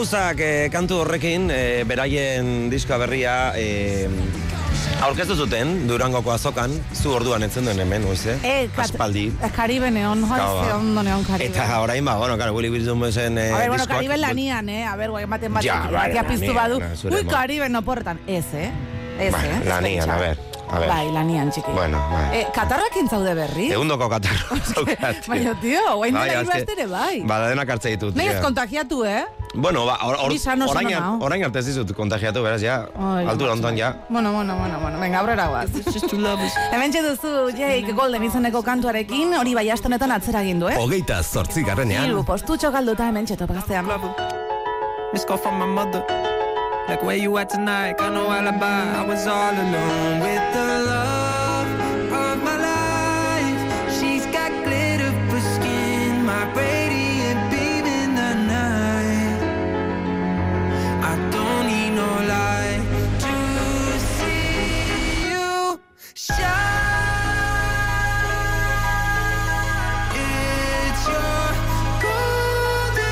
gauzak kantu horrekin, beraien diska berria aurkeztu zuten Durangoko azokan, zu orduan entzen duen hemen, oize? Aspaldi. Caribe Neon, ondo Neon Caribe. Eta orain bueno, claro, Willy Wilson zen diskoak. Bueno, Caribe lanian, ematen bat. Ja, piztu badu. Ui, Caribe no porretan. Ez, lanian, a ver. Bai, lanian, txiki. Bueno, bai. Katarrakin zaude berri? Egundoko katarro zaukat. Baina, tio, guain dela ibastere, bai. Dena kartze ditut. Nahi ez kontagiatu, Bueno, orain arte ez dizut kontagiatu, beraz, ja, altura ontan, ja. Bueno, venga, aurrera guaz. Hemen duzu, Jake Golden izeneko kantuarekin, hori bai astonetan atzera gindu, 28. Hiru postutxo galduta hemen topagaztean. This call from my mother. Like, where you at tonight? Got no alibi. I was all alone with the love of my life. She's got glitter for skin, my radiant beam in the night. I don't need no light to see you shine. It's your golden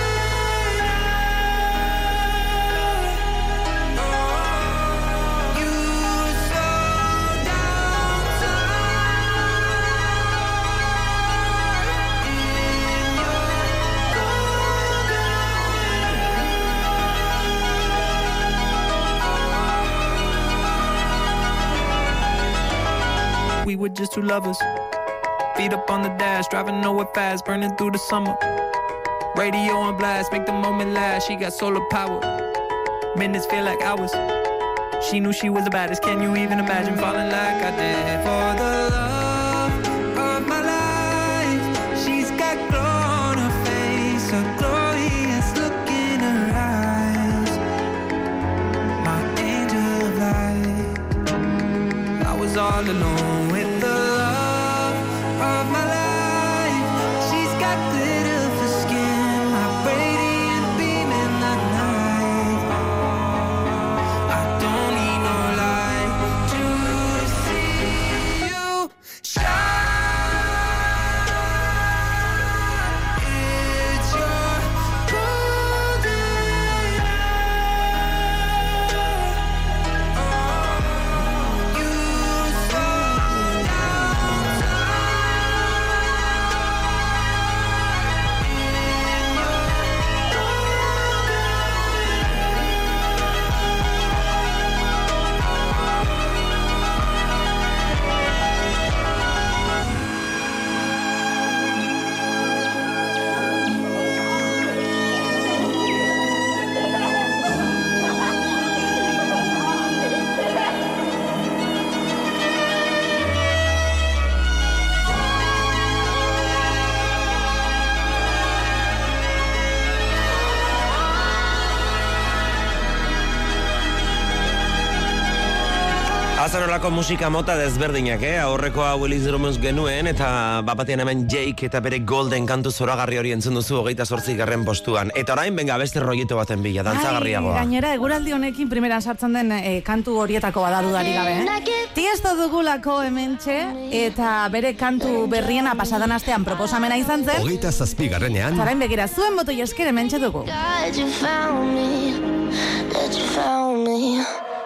we were just two lovers. Feet up on the dash, driving nowhere fast, burning through the summer. Radio on blast, make the moment last. She got solar power. Minutes feel like hours. She knew she was the baddest. Can you even imagine falling like I did? For the love of my life, she's got glow on her face, a glorious look in her eyes. My angel of light. I was all alone. Azarolako musika mota desberdinak, aurrekoa Willis Drummus genuen, eta bapatean hemen Jake eta bere Golden kantu zoragarri hori entzun duzu 28. postuan. Eta orain, benga, beste rollito baten bila, dantzagarriagoa. Gainera, eguraldi honekin primeran sartzen den kantu horietako badudari gabe, Tiesto dugulako hementxe, eta bere kantu berriena pasadan astean proposamena izan zen. 27. Zarain begira, zuen botoi esker hementxe dugu. God, you found me.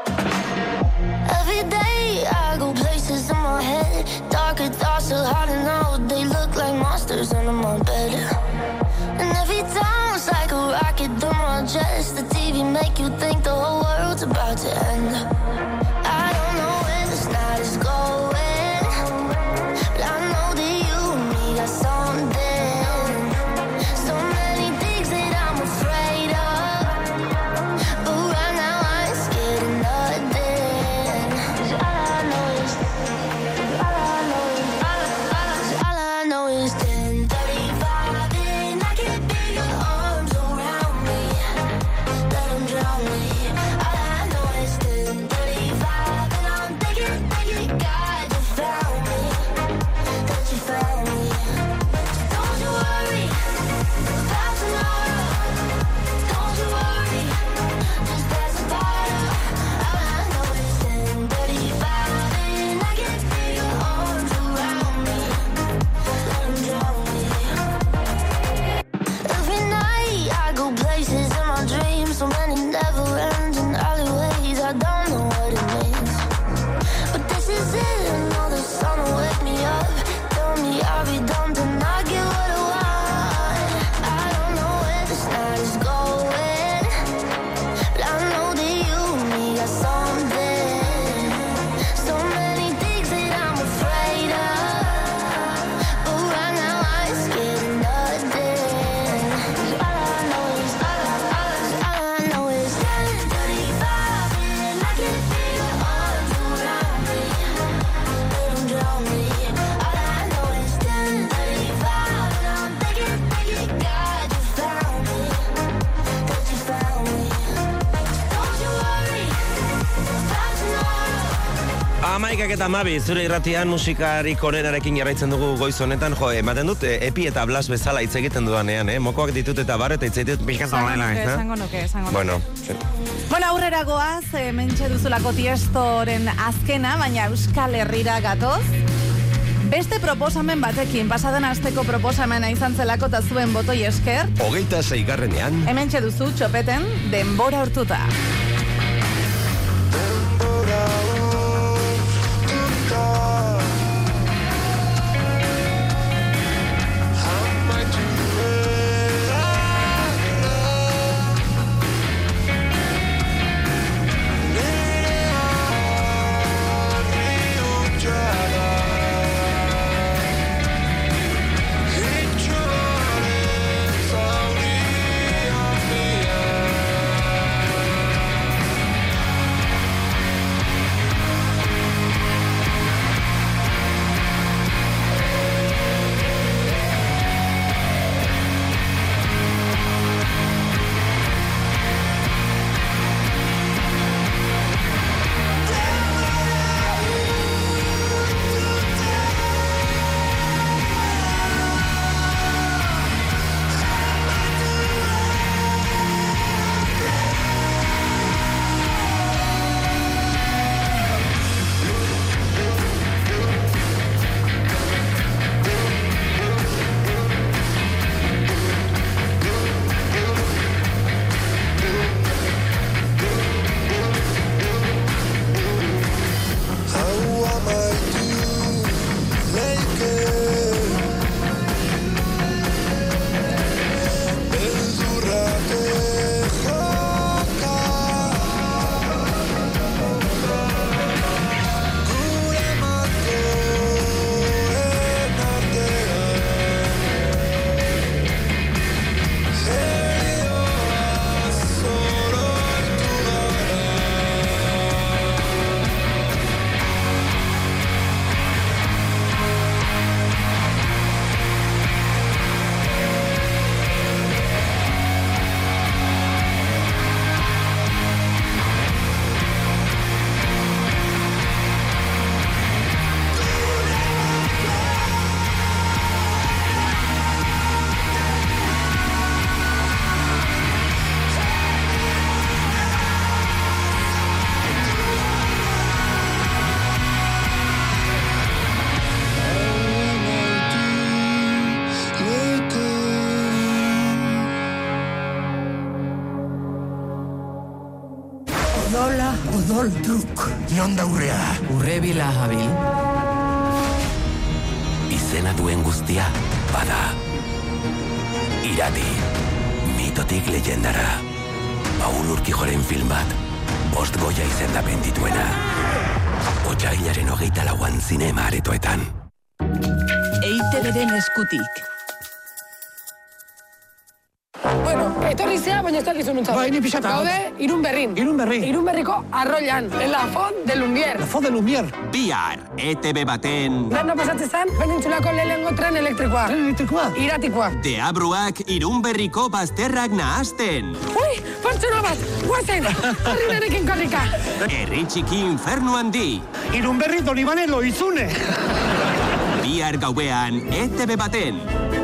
Every day I go places in my head. Darker thoughts are hard to know. They look like monsters under my bed. And every time it's like a rocket through my chest. The TV make you think the whole world's about to end. I don't know where this night is going, but I know that you and me got something. So many things that I'm afraid of, but right now I ain't scared of nothing. 'Cause all I know is 10:35 and I can't feel your arms around me. Let them drown me. All I know is 10:35 and I'm thinking, God, you found me. That you found me. Don't you worry about tomorrow. Don't you worry, just pass the bottle. All I know is 10:35 and I can't feel your arms around me. Let them drown me. Every night I go places in my dreams. 11:12, zure irratian musikarik onenarekin jarraitzen dugu goiz honetan, ematen dut, Epi eta Blas bezala hitz egiten dudanean, mokoak ditut eta bar eta hitz egiten dut Esango nuke. Bueno, aurrera goaz, mentxe duzulako Tiestoren azkena, baina Euskal Herrira gatoz. Beste proposamen batekin, pasaden asteko proposamena izan zelako eta zuen botoi esker. 26. Hementxe duzu txopeten denbora hortuta. Odol truk, non daurrea? Urrebila habil. Izena duen guztia, bada. Irati, mitotik leyendara. Paul Urkijoren film bat, 5 Goya izendapen dituena. Otsailaren 24an zinema aretoetan. EITB-den eskutik. Bueno, etorri zea, baina ez dakizu nuntzat. Ba, ini pixata. Gaude, Irunberrin. Irunberriko Arroian, en la Font de Lumière. La Font de Lumière. Bihar, ETB baten... Landa pasatzen zen, penintsulako lehenengo tren elektrikoa. Tren elektrikoa? Iratikoa. Deabruak Irunberriko bazterrak nahazten. Ui, pertsona bat, guazen, herrinerekin korrika. Herri txiki infernu handi. Irunberri Donibane Loizune. Bihar gauean, ETB baten.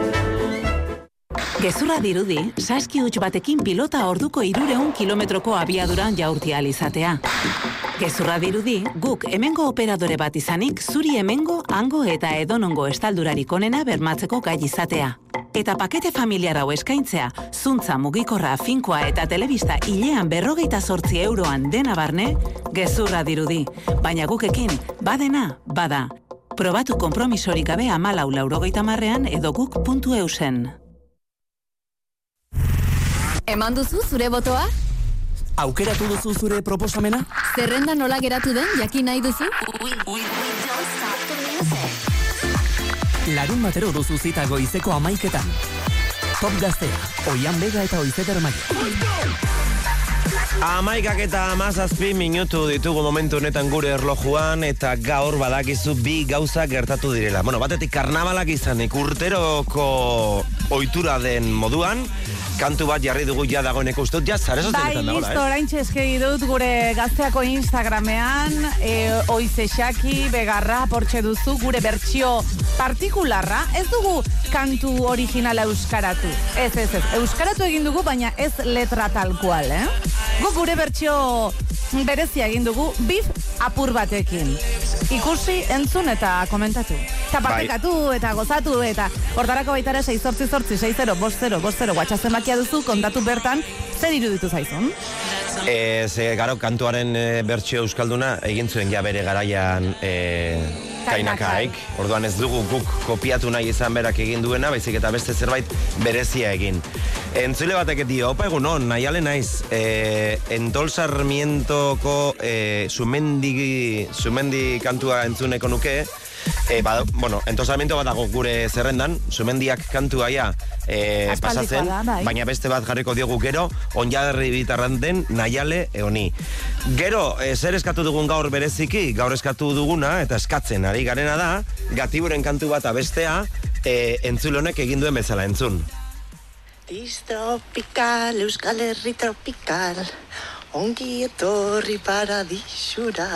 Gezurra dirudi, saski huts batekin pilota orduko 300 kilometroko abiaduran jaurti alizatea. Gezurra dirudi, guk hemengo operadore bat izanik, zuri hemengo, hango eta edonongo estaldurarik onena bermatzeko gai izatea. Eta pakete familiar hau eskaintzea, zuntza mugikorra, finkoa eta telebista hilean 58 euroan dena barne, gezurra dirudi. Baina gukekin, badena, bada. Probatu konpromisorik gabe 14,90 edo guk.eusen. Eman duzu zure botoa? Aukeratu duzu zure proposamena? Zerrenda nola geratu den jakin nahi duzu? Larun batero duzu zita goizeko 11:00. Top Gaztea, Oian Bega eta Oizeder Maia. Amaikak eta 17 minutu ditugu momentu honetan gure erlojuan, eta gaur badakizu bi gauza gertatu direla. Bueno, batetik karnabalak izanik urteroko ohitura den moduan, kantu bat jarri dugu ja dagoeneko ustut, ja zare sozialetan dagoela, listo, oraintxe eskegi dut gure gazteako Instagramean, oizexaki, begarra, portxe duzu, gure bertsio partikularra, ez dugu kantu originala euskaratu. Ez, euskaratu egin dugu, baina ez letra tal cual, Guk gure bertsio berezia egin dugu, bif apur batekin. Ikusi, entzun eta komentatu. Eta partekatu eta gozatu eta hortarako baitara 688-60-50-50 WhatsApp zenbakia duzu, kontatu bertan zer iruditu zaizun. Garo, kantuaren bertsio euskalduna egin zuen ja bere garaian Kainakaik. Orduan ez dugu guk kopiatu nahi izan berak egin duena, baizik eta beste zerbait berezia egin. Entzule batek dio, opa egunon, nahiale naiz, Entol Sarmientoko Sumendi kantua entzuneko nuke, Entol Sarmiento bat dago gure zerrendan, Sumendiak kantua ja pasatzen, baina beste bat jarriko diogu gero, onjaderri bitarran den nahiale eoni. Gero, zer eskatu dugun gaur bereziki, gaur eskatu duguna, eta eskatzen ari garena da, Gatiburen kantu bat abestea, entzule honek egin duen bezala entzun. Tropical, Euskal Herri tropical, ongi etorri paradisura.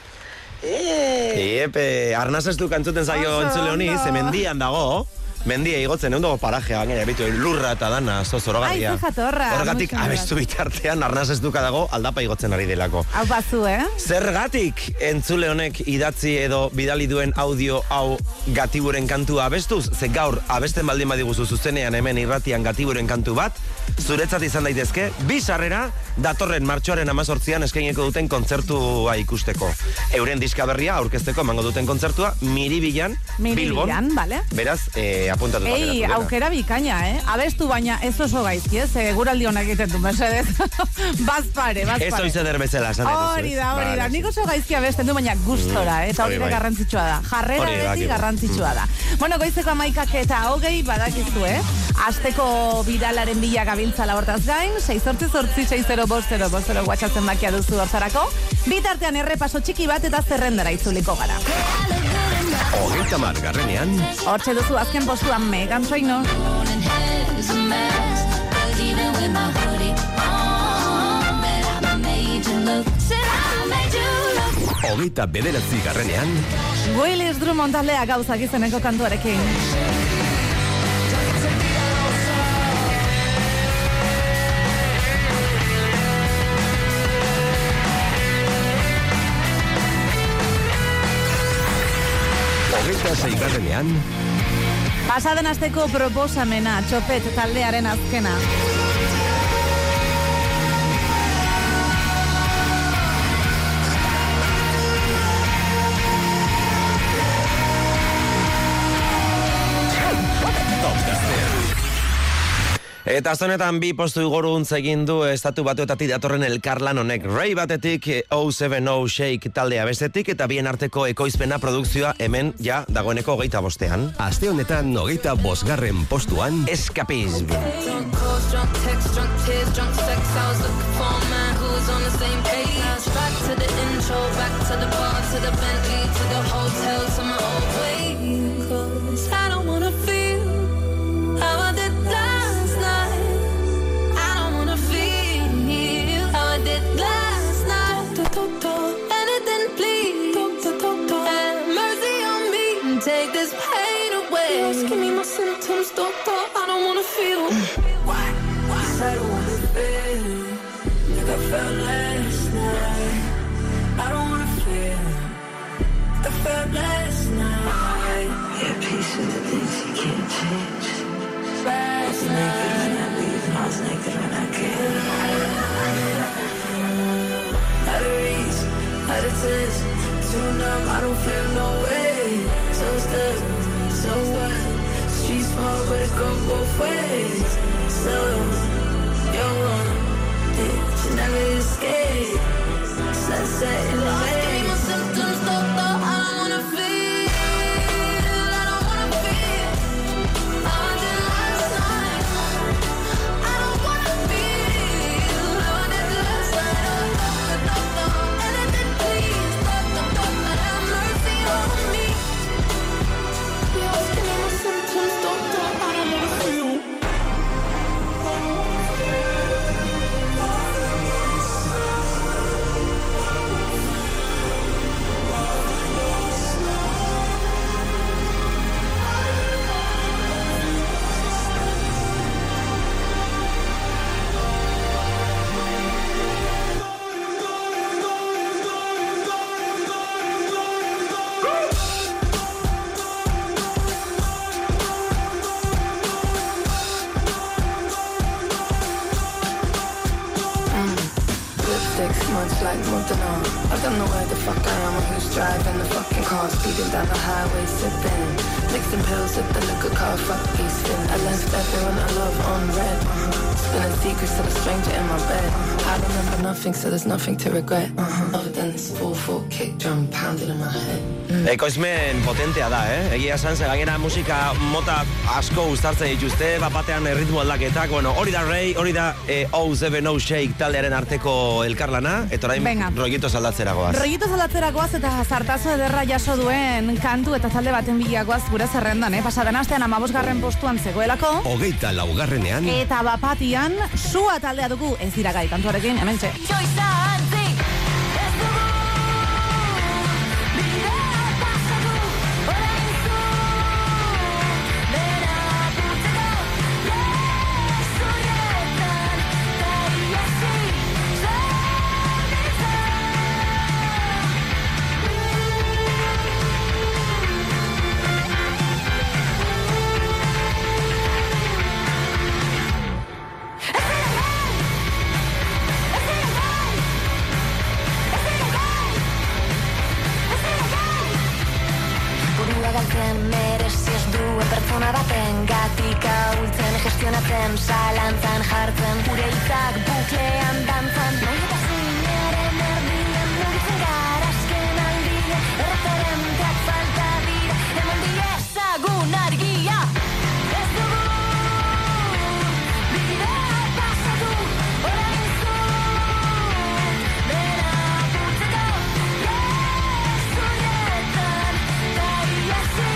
Arnaz ez du kantzuten zaio entzule honi, ze mendian dago, mendia igotzen, egun dago parajea, gainera, bitu, lurra eta dana, zorogarria. Horregatik, abestu bitartean, arnaz ez duka dago, aldapa igotzen ari delako. Hau bazu, Zergatik entzule honek idatzi edo bidali duen audio hau Gatiburen kantua abestuz? Ze gaur, abesten baldin badiguzu zuzenean hemen irratian Gatiburen kantu bat, zuretzat izan daitezke, bi sarrera datorren martxoaren 18an eskaineko duten kontzertua ikusteko. Euren diska berria aurkezteko emango duten kontzertua Miribilan, Bilbon. Vale. Beraz, apuntatu baina. Aukera bikaina, Abestu baina ez oso gaizki, guraldi honak egiten du, mesedez. Bazpare. Ez oizeder bezala, esan hori da. Nik oso gaizki abesten du, baina gustora, eta hori garrantzitsua da. Jarrera beti garrantzitsua da. Bueno, goizeko 11 eta 20 badakizu, Asteko biralaren bila gabiltzala hortaz gain, 688-60-50-50 WhatsApp zenbakia duzu hortzarako. Bitartean errepaso txiki bat eta zerrendara itzuliko gara. 30. Hortxe duzu azken postuan Megan Trainor. 29. Willis Drummond taldea gauzak izeneko kantuarekin. 26. Pasaden asteko proposamena, Txopet taldearen azkena. 10. Eta zonetan bi postu igoruntz egin du estatu batuetatik datorren elkarlan honek. Ray batetik 070 Shake taldea bestetik eta bien arteko ekoizpena produkzioa hemen ja dagoeneko 25. Aste honetan 25. postuan Escapism. Take this pain away. Just give me my symptoms, doctor. I don't wanna feel. Why? Cause I don't wanna feel like I felt last night. I don't wanna feel like I felt last night. Yeah, peace with the things you can't change. Last night I was naked when I came. Out of reach, out of touch, too numb, I don't feel no way. So stuck, so what? Street small, but it go both ways. So, you're one, you never escape. Sunset in the way. Give me my symptoms, doctor, I don't wanna feel. I don't wanna feel how I did last night. I don't wanna feel how I did last night. fix, much like Montana. I don't know where the fuck I am or who's driving the fucking car. Speeding down the highway, sipping, mixing pills with the liquor car. Fuck Easton. I left everyone I love on red. Spilling secrets to the stranger in my bed. I remember nothing, so there's nothing to regret. Other than this 4/4 kick drum pounding in my head. Ekoizmen potentea da, Egia esan, gainera musika mota asko uztartzen dituzte, batean ritmo aldaketak, bueno, hori da Ray, hori da O7O Shake taldearen arteko elkarlana, eta orain Rollitos aldatzeragoaz. Rollitos aldatzeragoaz eta zartazo ederra jaso duen kantu eta talde baten bilagoaz gure zerrendan, Pasaden astean 15. postuan zegoelako. 24. Eta bapatian, Sua taldea dugu ez dira gai kantuarekin, hementxe. Gestionatzen, zalantzan jartzen, gure hitzak buklean dantzan. Nahi eta zinaren erdian, mugitzen gara azken aldian. Erreferenteak falta dira, eman diezagun argia. Ez dugu, bidea pasatu, orain zu. Bera putzeko, gezurretan, da iasi,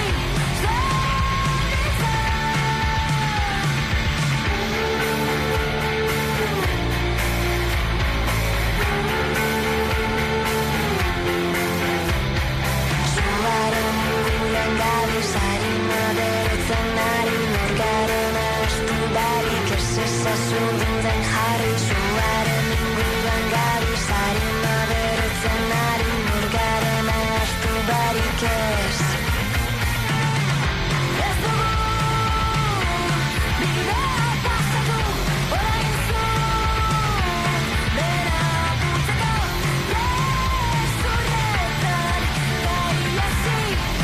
zuzuden jarri zuaren inguruan gabi zari maberetzen ari murgaren astu barik ez. Ez dugu bidea pasatu orain zu bera putzeko gezurretan da iasi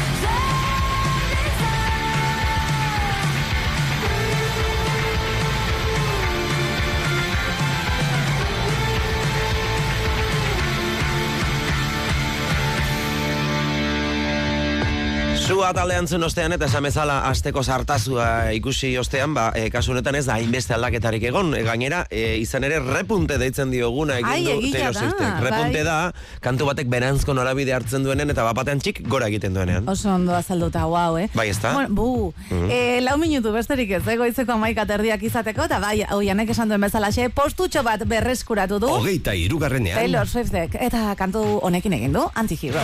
Sua taldean zen ostean eta esan bezala asteko sartazua ikusi ostean, kasu honetan ez da hainbeste aldaketarik egon, gainera izan ere repunte deitzen dioguna egin du Taylor Swiftek. Repunte da, kantu batek beranzko norabide hartzen duenen eta bapatean txik gora egiten duenean. Oso ondo azalduta, guau, Bai, ez da? Bueno, 4 minutu besterik ez, goizeko 11:30 izateko, eta bai, Oianek esan duen bezalaxe, postutxo bat berreskuratu du. 23. Taylor Swiftek, eta kantu honekin egin du, Anti-Hero.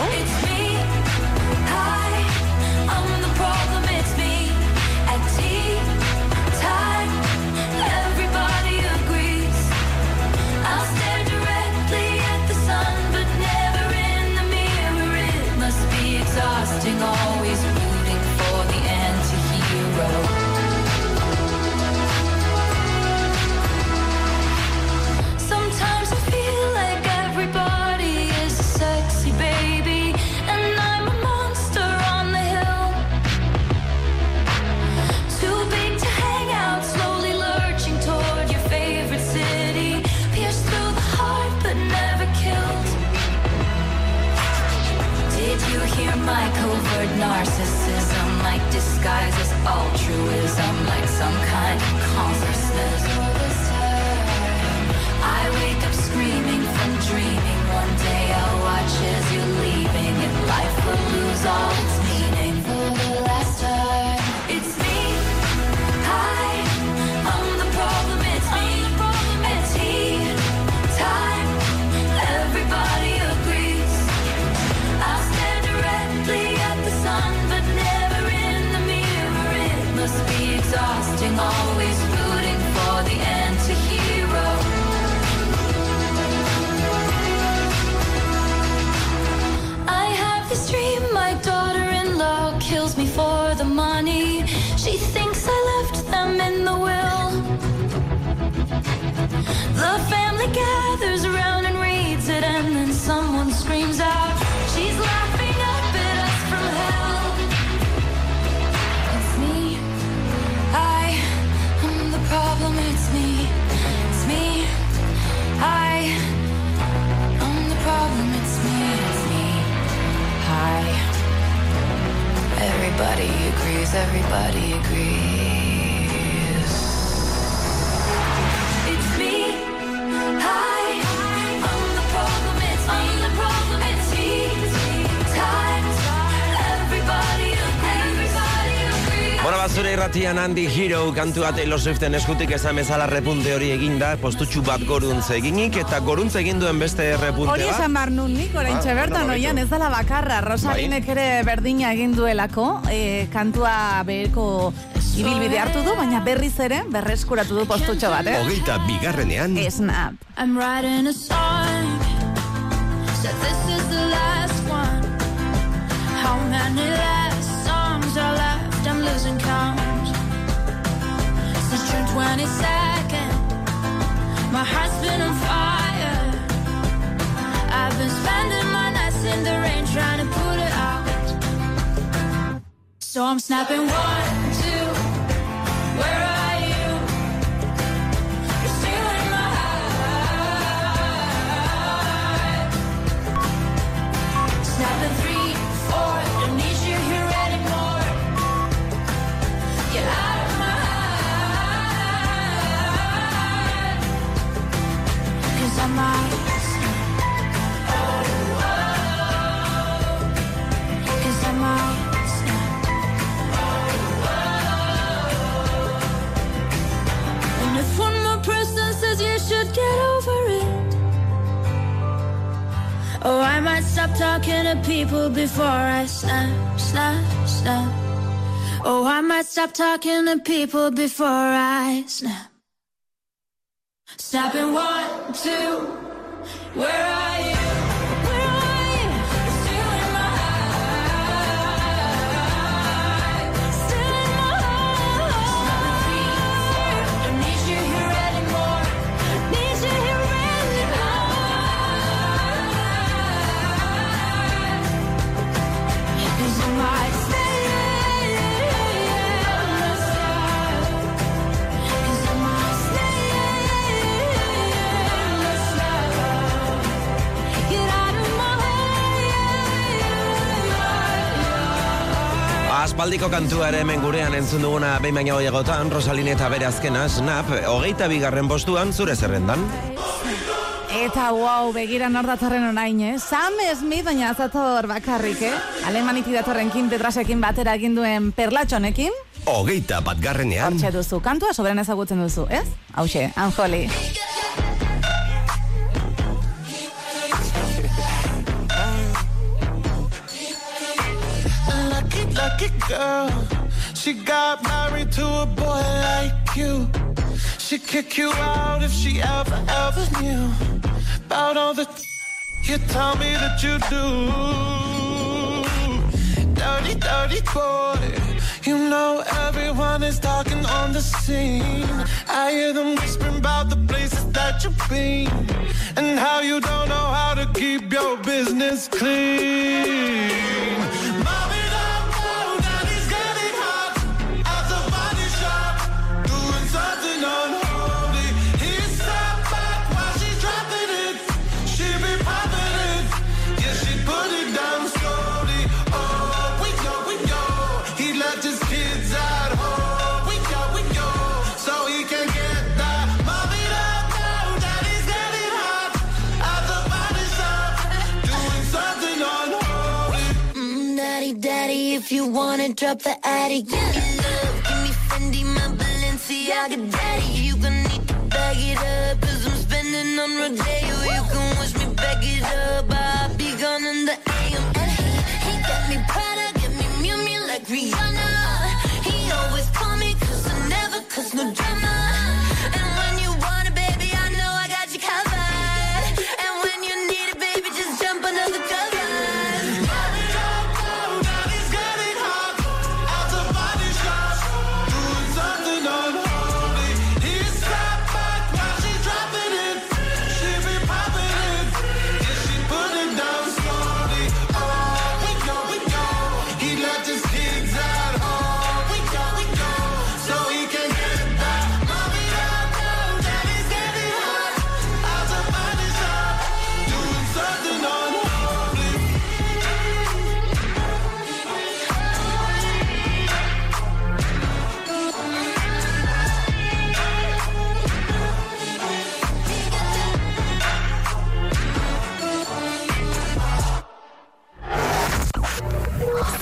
Always rooting for the anti-hero. Sometimes I feel like everybody is a sexy baby, and I'm a monster on the hill. Too big to hang out, slowly lurching toward your favorite city, pierced through the heart but never killed. Did you hear my covert narcissism, like disguises altruism, like some kind of consciousness? I wake up screaming from dreaming. One day I'll watch as you're leaving, and life will lose all its meaning. For the last time, it's me. Hi, I'm the problem. It's me. At tea time, everybody agrees. I'll stare directly at the sun, but never in the mirror. It must be exhausting, always rooting for the anti-hero. I have this dream, my daughter-in-law kills me for the money. She thinks I left them in the will. The family gathers around and reads someone screams out, she's laughing up at us from hell. It's me, I am the problem, it's me, I am the problem, it's me, hi. Everybody agrees, everybody agrees. It's me, hi, I'm the problem, it's me, times, everybody agrees. Bueno, basure irratian Andy Hero kantua Taylor Swiften eskutik esan bezala repunte hori eginda, postutxu bat goruntze eginik, eta goruntze egin duen beste repunte bat. Hori esan bar nun nik, oraintxe bertan, oian, ez dela bakarra, Rosalinek ere berdina egin duelako, kantua beherko ibilbide hartu du, baina berriz ere, berreskuratu du postutxo bat, Hogeita bigarrenean. Snap. I'm writing a song, so this is the last one. How many last songs are left? I'm losing count. Since June 22nd, my heart's been on fire. I've been spending my nights in the rain trying to put it out. So I'm snapping 1, 2, where are you? You're stealing my heart. Snapping 3, 4, don't need you here anymore. Get out of my heart. 'Cause I might snap. Oh, oh. 'Cause I might snap. Oh, oh. And if one more person says you should get over it, oh, I might stop talking to people before I snap, snap, snap. Oh, I might stop talking to people before I snap. Snapping 1, 2, where are you? Where are you? You're still in my heart. Still in my heart. Don't need you here anymore. Need you here anymore. 'Cause I might stay. Aspaldiko kantua ere hemen gurean entzun duguna behin baina gehiagotan, Rosaline eta bere azkena, Snap, 22. postuan zure zerrendan. Eta wow, begira nor datorren orain, Sam Smith, baina azator bakarrik, Alemanitik datorren Kim Petrasekin batera egin duen Perlatxonekin. 21. Hortxe duzu, kantua soberen ezagutzen duzu, ez? Hauxe, Unholy. Lucky girl, she got married to a boy like you. She'd kick you out if she ever knew about all the you tell me that you do. Dirty, dirty boy, you know everyone is talking on the scene. I hear them whispering about the places that you've been and how you don't know how to keep your business clean. If you wanna drop the attic, give me love, give me Fendi, my Balenciaga daddy. You gonna need to bag it up, 'cause I'm spending on Rodeo. You can wish me back it up, I'll be gone in the AM. And he got me Prada, get me Miu Miu like Rihanna. He always call me 'cause I never cause no drama. And when you want it, baby, I know I got you covered. And when you need it, baby, just jump under the covers. He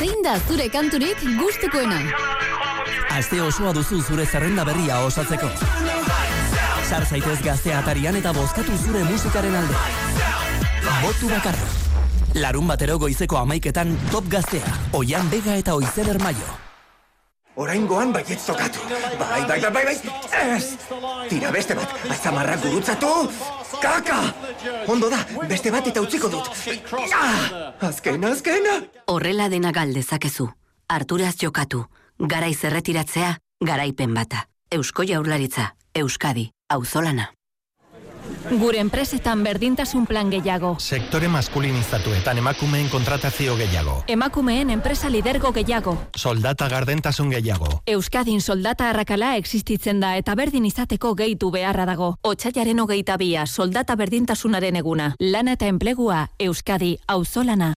Zein da zure kanturik gustukoena? Aste osoa duzu zure zerrenda berria osatzeko. Sar zaitez Gaztea atarian eta bozkatu zure musikaren alde. Botu bakarra. Larun batero goizeko 11etan Top Gaztea, Oian Bega eta Oizer Maio. Oraingoan baiet zokatu. Bai. Ez! Tira beste bat, atzamarrak gurutzatu. Kaka! Ondo da, beste bat eta utziko dut. Azkena! Horrela dena galdezakezu. Arturaz jokatu. Garaiz erretiratzea, garaipen bata. Eusko Jaurlaritza, Euskadi, auzolana. Gure enpresetan berdintasun plan gehiago. Sektore maskulinizatuetan emakumeen kontratazio gehiago. Emakumeen enpresa lidergo gehiago. Soldata gardentasun gehiago. Euskadin soldata arrakala existitzen da eta berdin izateko gehitu beharra dago. Otsailaren 22, soldata berdintasunaren eguna. Lana eta enplegua, Euskadi, auzolana.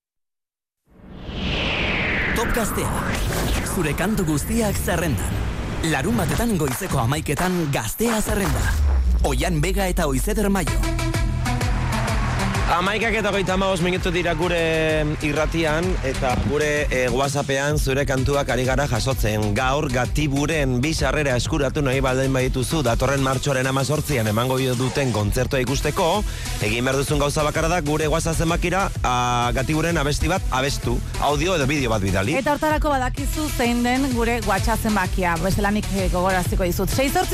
Top Gaztea. Zure kantu guztiak zerrendan. Larun batetan goizeko 11etan Gaztea zerrenda. Oian Bega eta Oizer Maio. 11:35 minutu dira gure irratian eta gure WhatsAppean zure kantuak ari gara jasotzen. Gaur Gatiburen 2 sarrera eskuratu nahi baldin badituzu datorren martxoaren 18an emango duten kontzertua ikusteko. Egin behar duzun gauza bakarra da gure WhatsApp zenbakira Gatiburen abesti bat abestu, audio edo bideo bat bidali. Eta hortarako badakizu zein den gure WhatsApp zenbakia. Bestelanik gogoraziko dizut.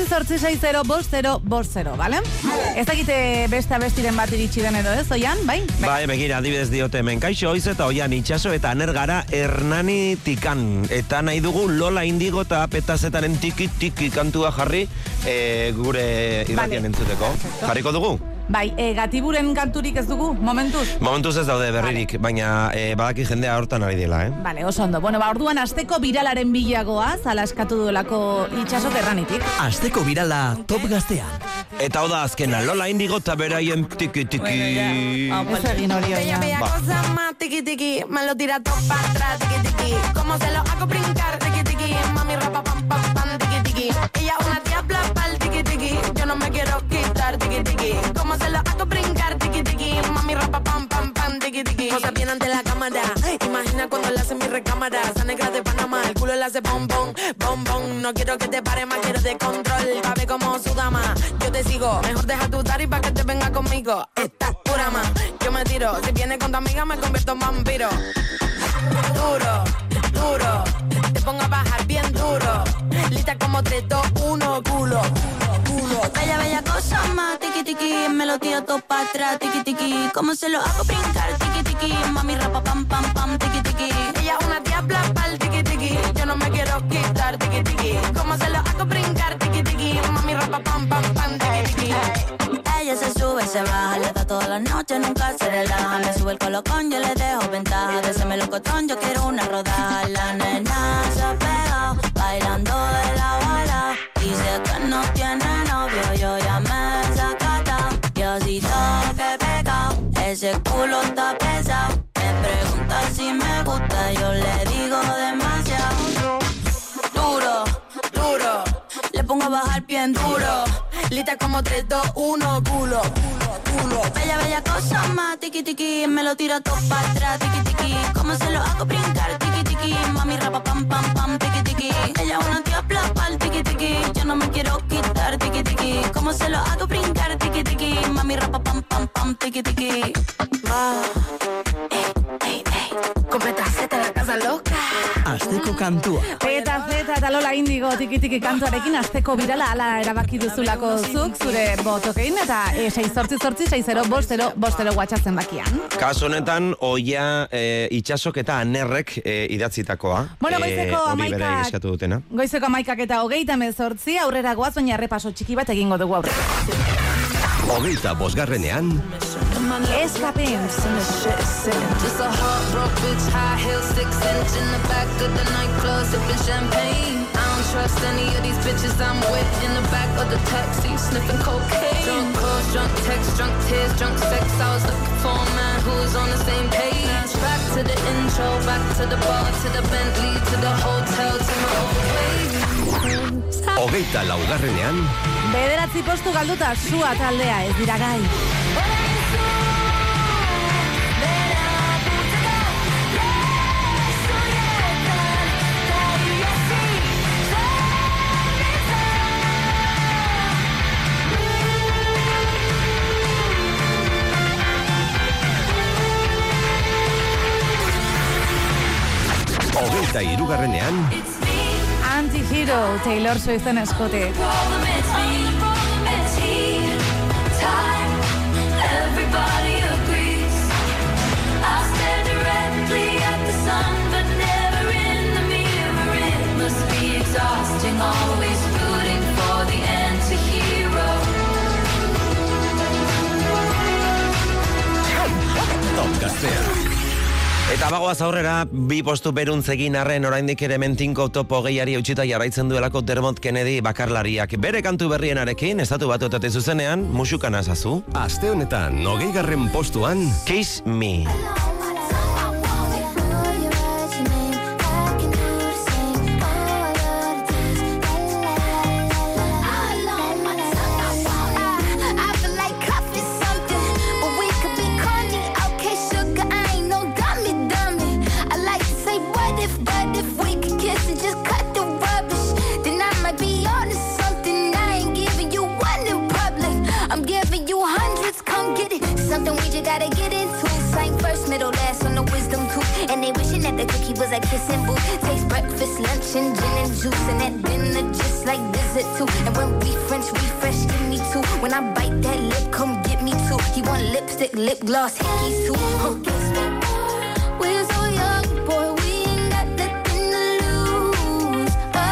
688605050, ¿vale? Ez dakite beste abestiren bat iritsi den edo ez, Oian, bai? Bai, begira, adibidez diote hemen. Kaixo, Oiz eta Oian itxaso eta Anergara Hernani tikan. Eta nahi dugu Lola Indigo eta Petazetaren tiki kantua jarri gure irratian entzuteko. Jarriko dugu? Bai, Gatiburen kanturik ez dugu, momentuz? Momentuz ez daude berririk, baina badaki jendea hortan ari dela, Vale, oso ondo. Bueno, orduan asteko biralaren bilagoa, zala eskatu duelako itxaso Hernanitik. Asteko birala Top Gaztean. Eta hau da azkena, Lola Indigo eta beraien tiki. Ez egin hori oia. Bella cosa más tiki, me lo tira todo para atrás, tiki, como se lo hago brincar, tiki, mami rapa pam pam pam, tiki, ella una diabla pal, tiki, yo no me quiero quitar, tiki, como se lo hago brincar, tiki, mami rapa pam pam pam, tiki, cosa bien ante la cámara, imagina cuando le hace mi recámara, esa negra de Panamá, el culo le hace bom bom, no quiero que te pare más, quiero de control, pa' ver como su dama, yo te sigo, mejor deja tu daddy pa' que te venga conmigo, estás pura más, yo me tiro, si vienes con tu amiga me convierto en vampiro, duro, te pongo a bajar bien duro, lista como 3, 2, 1, culo. Bella cosa más, tiki, me lo tiro todo para atrás, tiki, como se lo hago brincar, tiki, mami rapa pam pam pam, tiki, ella una diabla pal, tiki, yo no me quiero quitar, tiki, como se lo hago brincar, tiki, mami rapa pam pam pam, tiki. Ella se sube, se baja, le da toda la noche, nunca se relaja, me sube el colocón, yo le dejo ventaja, de ese melocotón yo quiero una rodaja, la nena se ha pegado, bailando de la bala, dice que no tiene novio, yo ya me he sacatao, yo sí toque pecao, ese culo está pesado, me pregunta si me gusta, yo le digo demasiado, duro, le pongo a bajar bien duro, lista como 3, 2, 1, culo. Bella cosa más, tiki, me lo tiro todo para atrás, tiki, como se lo hago brincar, tiki, mami rapa pam pam pam, tiki, ella una diabla pal, tiki, yo no me quiero quitar, tiki, como se lo hago brincar, tiki, mami rapa pam pam pam, tiki. Con Petaceta la casa loca. Asteko kantua. Petaceta eta Lola Indigo tiki kantuarekin asteko birala ala erabaki duzulako zuk zure botokein eta 688605050 WhatsApp zenbakian. Kasu honetan Oia itxasok eta Anerrek idatzitakoa. Bueno, goizeko 11 eta 38 aurrera goaz, baina errepaso txiki bat egingo dugu aurrera. 25ean Escapins. Just a heartbroken bitch, high heel, 6-inch in the back of the nightclub, sipping champagne. I don't trust any of these bitches I'm with in the back of the taxi, sniffing cocaine. Drunk calls, drunk texts, drunk tears, drunk sex. I was looking for a man who was on the same page. Back to the intro, back to the bar, to the Bentley, to the hotel, to my old place. 24ean Bederatzi postu galduta sua taldea ez dira gai. 83. Anti-Hero, Taylor Swiften eskote. Everybody agrees. I stare directly at the sun, but never in the mirror. It must be exhausting, always rooting for the anti-hero. Top Gaztea. Eta bagoaz aurrera, bi postu beruntzekin arren oraindik ere mentinko top 20 eutxita jarraitzen duelako Dermot Kennedy bakarlariak. Bere kantu berrienarekin, estatu batuetatik zuzenean, musukan azazu. Aste honetan, 20. postuan, Kiss Me. Gotta get into sang first, middle, last on the wisdom tooth. And they wishing that the cookie was a kissing booth. Taste breakfast, lunch, and gin and juice. And at dinner, just like dessert too. And when we French refresh, give me two. When I bite that lip, come get me two. He want lipstick, lip gloss, hickeys too. We're so young, boy, we ain't got nothing to lose.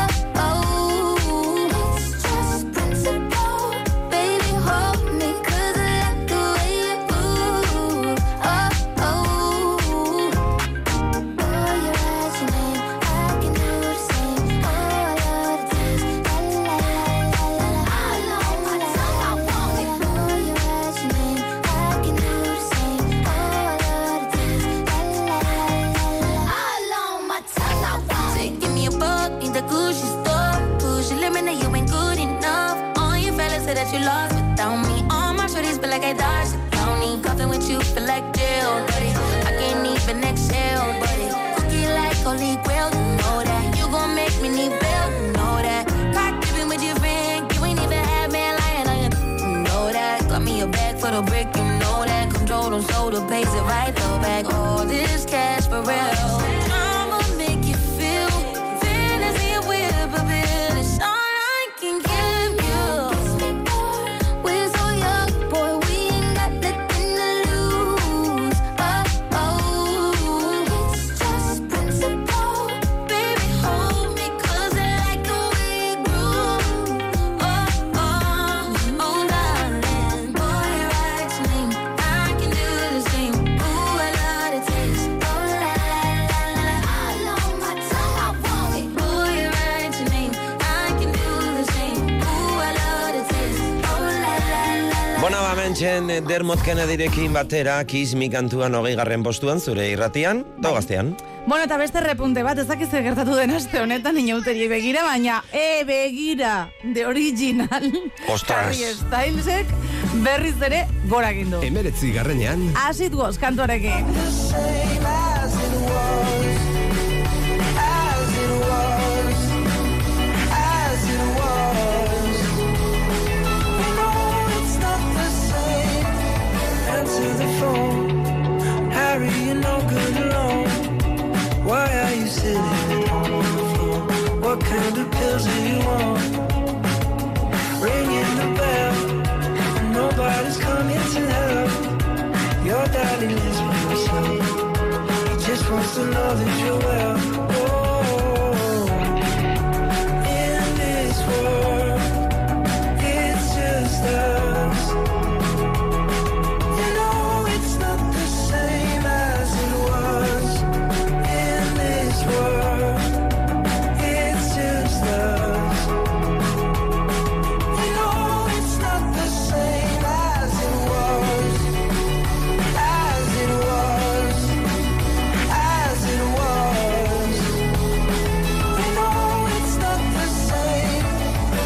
Oh, it's just principle. Baby, hold me, 'cause I like the way you move. Oh, your eyes, your name, I can do the same. Oh, I love the taste. La la la la la. I know my tongue, I want it. Oh, your eyes, your name, I can do the same. Oh, I love the taste. La la la la. I know my tongue, I want it. Give me a book in the Gucci store. Push your limit, now you ain't good enough. All your fellas say that you lost without me. All my shorties feel like I dodged the county. Coughing with you feel like jail, buddy. I can't even exhale, buddy. Cookie like holy grail, you know that. You gon' make me need bail, you know that. Cock dipping with your friend, you ain't even had man lying on you, you know that. Got me a bag for the brick, you know that. Control them shoulder, pays it right though back. All this cash for real. I'ma make you feel fantasy with a bill. It's all I can give you. We're so young, boy, we ain't got nothing to lose. Oh, it's just principle. Baby, hold me, 'cause I like the way you groove. Oh, darling, boy, your eyes, your name, I can do the same. Ooh, I love the taste. Oh, la la la la. I know my tongue, I want it. Boy, your eyes, your name, I can do the same. Ooh, I love the taste. Oh, la la la la. Bona bamentzen Dermot Kennedyrekin batera Kiss Me kantuan 20. postuan zure irratian, do gaztean. Bueno, eta beste repunte bat, ez dakiz gertatu den aste honetan inauteri begira, baina begira, The Original. Ostras. Harry Stylesek berriz ere gora egin du. 19. Acid Was kantuarekin. Answer the phone, Harry, you're no good alone. Why are you sitting on the floor? What kind of pills do you want? Ringing the bell, and nobody's coming to help. Your daddy lives by himself. He just wants to know that you're well. Oh, in this world, it's just us. You know it's not the same as it was. In this world, it's just us. You know it's not the same as it was. As it was. As it was. You know it's not the same.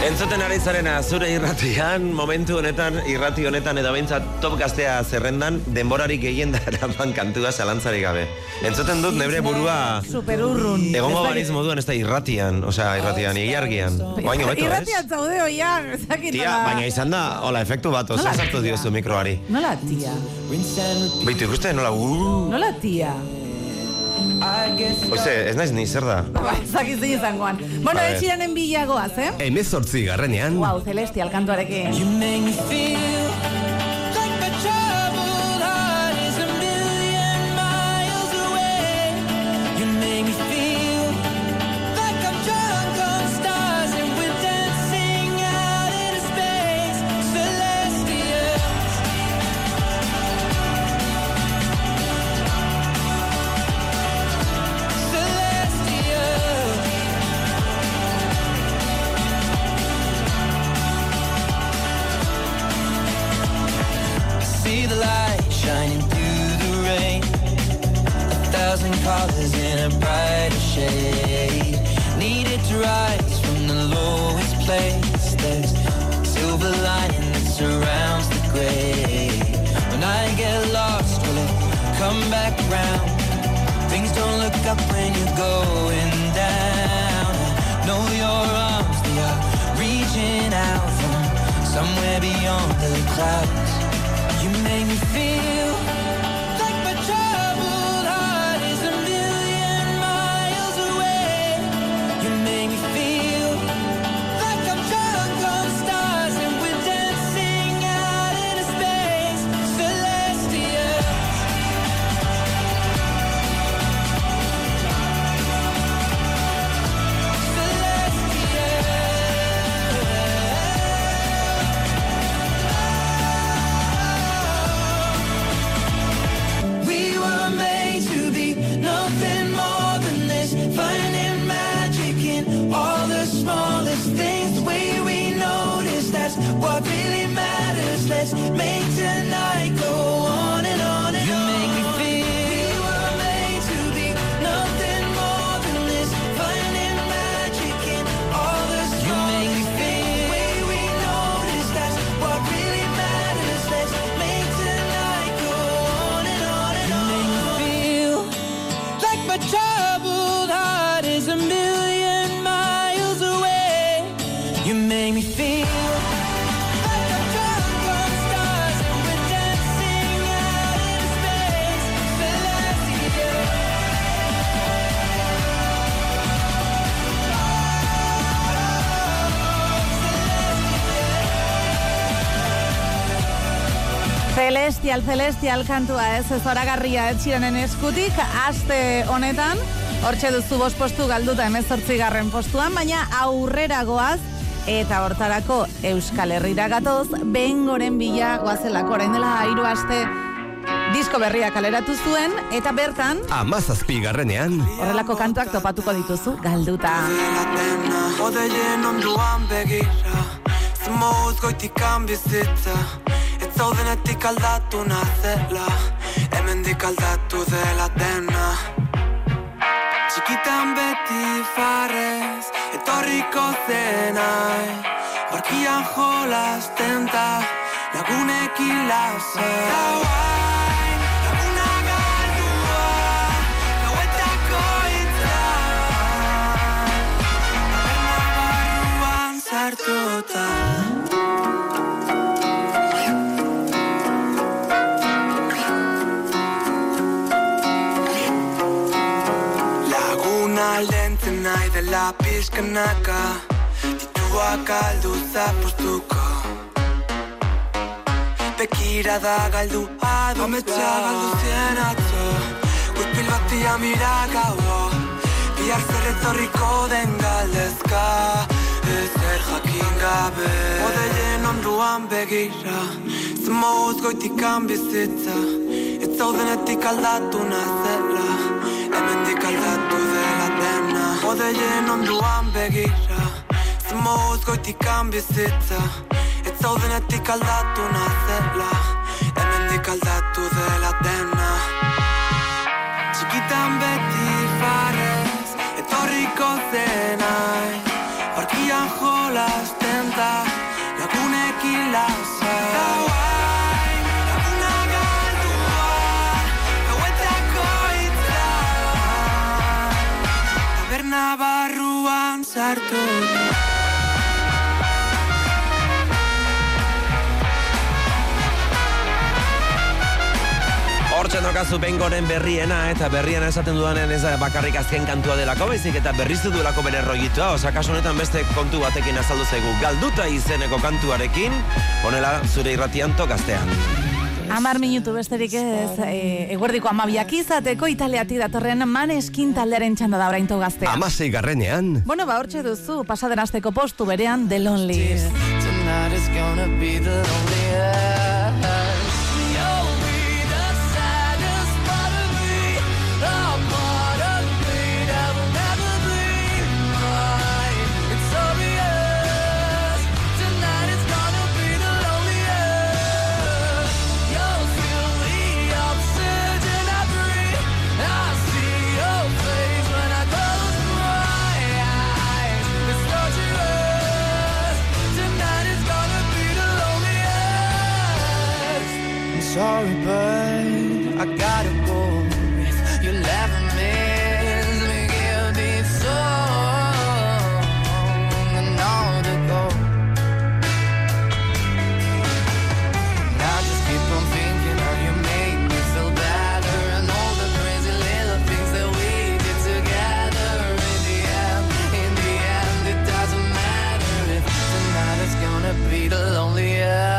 Entzuten ari zarena zure irratian, momentu honetan, irrati honetan edo behintzat top gaztea zerrendan, denborarik gehien da eraman kantua zalantzarik gabe. Entzuten dut nebre burua superurrun. Egongo baniz moduan ez da irratian, osea irratian, ilargian. Oaino beto, ez? Irratian zaude oian, Tia, baina izan da, hola, efektu bat, oza sartu diozu mikroari. Nola tia? Beitu ikuste, nola, Nola tia? Oize, ez naiz ni, zer da? Zakizu izangoan. Bueno, etxiranen bilagoaz, eh? 18 Wow, Celestial kantuarekin. You make me feel like my troubled heart is a million miles away. You make me feel like I'm drunk on stars and we're dancing out into space. Celestial. See the light shining through the rain, 1,000 colors in a brighter shade. Needed to rise from the lowest place. There's silver lining that surrounds the gray. When I get lost, will it come back around? Things don't look up when you're going down. I know your arms, they are reaching out from somewhere beyond the clouds. You make me feel like my troubled heart is a million miles away. You make me feel like I'm drunk on stars and we're dancing out into space. Celestial. We were made to be nothing more than this, finding magic in all the smallest things. The way we notice, that's what really matters. Let's make tonight go on and on and on. You make me feel we were made to be nothing more than this, finding magic in all the smallest things. You make me feel the way we notice, that's what really matters. Let's make tonight go on and on and on. You make me feel like my troubled heart is a million miles away. You make me feel like I'm drunk on stars and we're dancing out into space. Celestial. Celestial kantua ez zoragarria etxiranen eskutik, aste honetan, hortxe duzu 5 postu galduta 18. postuan, baina aurrera goaz, eta hortarako Euskal Herrira gatoz, bengoren bila goazelako, orain dela 3 aste disko berria kaleratu zuen, eta bertan 17 horrelako kantuak topatuko dituzu galduta. Odeien onduan begira, zmouz goitikan bizitza, ez zaudenetik aldatu nazela, hemendik aldatu dela dena. Txikitan beti farrez, etorriko zenai, barkian jolasten da, lagunekin lasai. Laguna galdua, gauetako hitza, taberna barruan sartuta. Lentzen nahi dela pixkanaka, dituak galdu zapostuko. Bekirada galdu adu, ametsa galdu zien atzo, guzpil batia miragago, bihar zer etorriko den galdezka, ezer jakin gabe. Odeien onduan begira, zmouz goitikan bizitza, ez zaudenetik aldatu nazela, hemendik aldatu dela dena. Odeien onduan begira, zmouz goitikan bizitza, ez zaudenetik aldatu nazela, hemendik aldatu dela dena. Txikitan beti farrez, etorriko zenai, barkian jolasten buelta, lagunekin lasai. Gauain, laguna galdua, gauetako itzan, taberna barruan sartu. Hortzen dokazu Bengoren berriena, eta berriena esaten dudanen ez bakarrik azken kantua delako, baizik eta berriztu duelako bere rollitua, oza, kasu honetan beste kontu batekin azaldu zaigu. Galduta izeneko kantuarekin, honela zure irratian Gaztean. 10 minutu besterik ez, eguerdiko 12 izateko Italiatik datorren Maneskin taldearen txanda da orain Gaztean. 16. Bueno, hortxe duzu, pasaden asteko postu berean The Lonely. Tonight is gonna be the loneliest. Sorry, but I gotta go. If you'll ever miss me, give me song and all to go. And I just keep on thinking how you make me feel better, and all the crazy little things that we did together. In the end, it doesn't matter if tonight is gonna be the loneliest.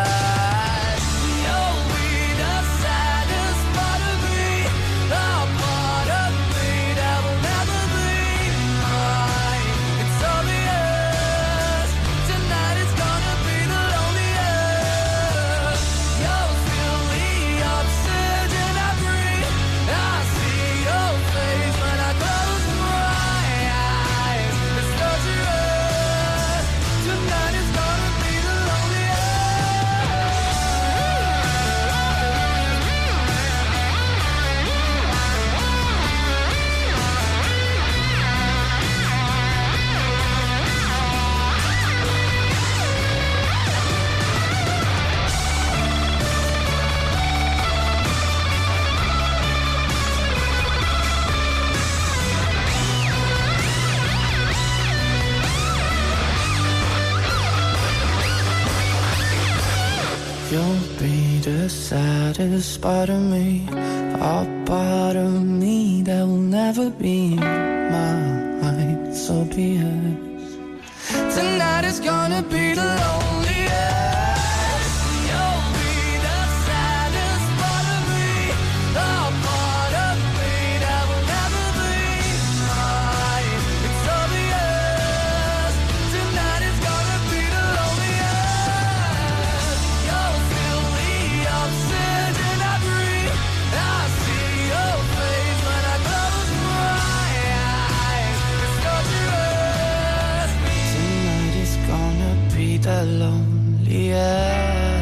You'll be the saddest part of me, a part of me that will never be mine, so be it. Tonight is gonna be the loneliest. You'll be the saddest part of me, a part of me that will never be mine, it's obvious. Tonight is gonna be the loneliest. You'll feel the oxygen I breathe. I see your face when I close my eyes. It's torturous. Tonight is gonna be the loneliest.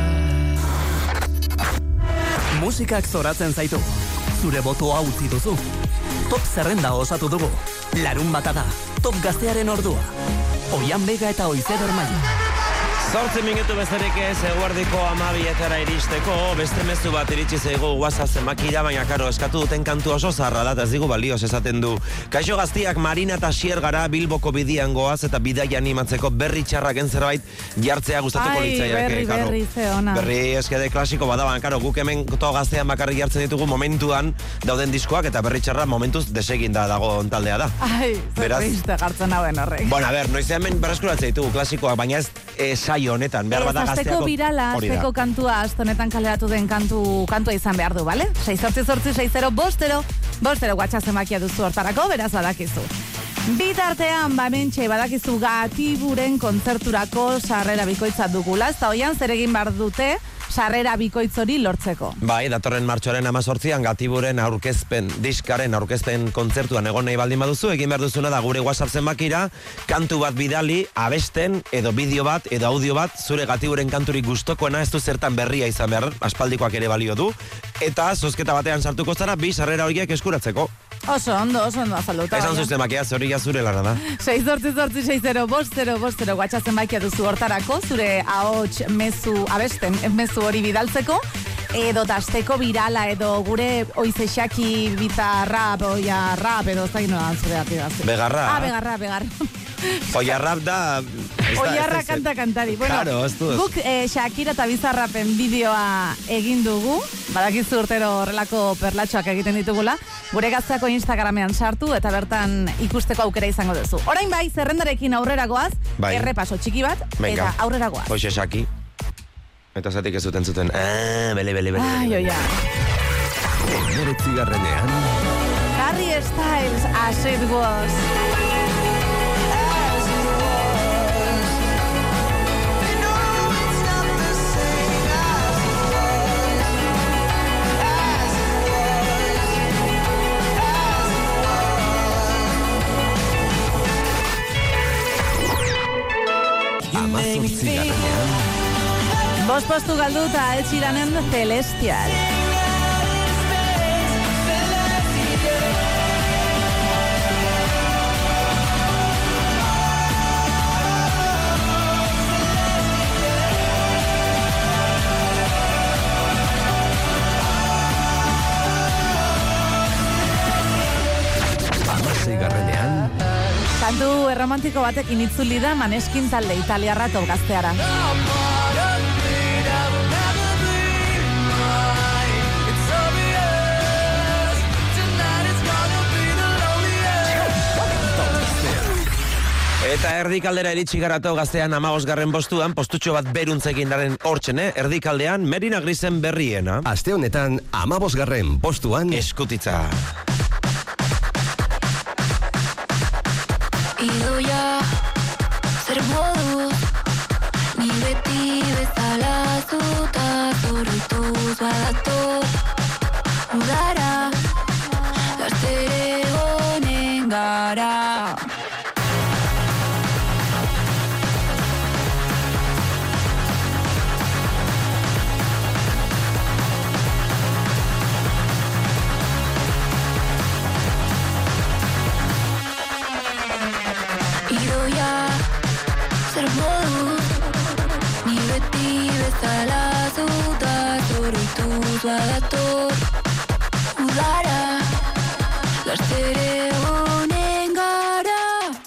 Musikak zoratzen zaitu. Zure botoa utzi duzu. Top zerrenda osatu dugu. Larun bata da. Top Gaztearen ordua. Oian Bega eta Oizer Ormaia. 8 minutu bezerik ez, eguerdiko 12etara iristeko, beste mezu bat iritsi zaigu WhatsApp zenbakira, baina karo, eskatu duten kantu oso zarra da, eta ez digu balioz esaten du. Kaixo Gaztiak, Marina eta Xier gara Bilboko bidian goaz, eta bidaia animatzeko berri txarraken zerbait jartzea gustatuko litzaiak. Berri, ze ona. Berri eskede klasiko badaban, karo, guk hemen to Gaztean bakarrik jartzen ditugu momentuan dauden diskoak, eta berri txarra momentuz desegin da dago taldea da. Ai, zerreizte gartzen hauen horrek. Bueno, a ver, noizean hemen berreskuratzen ditugu klasikoak, baina ez saio honetan, behar bada Gazteako... Azteko birala, azteko kantua, astonetan kaleratu den kantua izan behar du, bale? 688-60-50 WhatsApp zenbakia duzu hortarako, beraz badakizu. Bitartean, bamentxe, badakizu Gatiburen kontzerturako sarrera bikoitza dugula, ez da hoian zer egin behar dute sarrera bikoitzori lortzeko. Bai, datorren martxoaren 18an Gatiburen diskaren aurkezpen kontzertuan egon nahi baldin baduzu, egin behar duzuna da gure WhatsApp zenbakira, kantu bat bidali, abesten, edo bideo bat, edo audio bat, zure Gatiburen kanturik gustokoena, ez du zertan berria izan behar, aspaldikoak ere balio du, eta zozketa batean sartuko zara, 2 sarrera horiek eskuratzeko. Oso ondo azalduta. Esan zuzten bakia, zoria zure lana da. 6886050 WhatsApp zenbakia duzu hortarako, zure ahots mezu, abesten mezu hori bidaltzeko, edo tasteko birala, edo gure oizexaki bizarrap, oia rap, edo zain noan zure atidaz. Begarra. Begarra. Oia rap da... Oiarra kantari. Bueno, claro, guk Shakira eta Bizarrapen bideoa egin dugu, badakizu urtero horrelako perlatxoak egiten ditugula, gure gazteako Instagramean sartu eta bertan ikusteko aukera izango duzu. Orain bai, zerrendarekin aurrera goaz, errepaso txiki bat, eta aurrera goaz. Hoxe Shaki. Eta zatik ez zuten. Bele. Ai, oia. 9. Harry Styles, As It Was. Bost postu galduta Ed Sheeranen Celestial. Kantu erromantiko batekin itzuli da Maneskin talde italiarra tolgazteara. Eta erdikaldera iritsi garato gaztean 15. postuan, postutxo bat beruntzekin daren hortxene, erdikaldean Merina Grisen berriena. Aste honetan 15. postuan Eskutitza. Idoia, zer modu, ni beti bezala zuta zorrituz badator. Udara, gaztere honen gara. Zer modu, ni beti bezala zuta zorrituz badator. Udara, gaztere honen gara.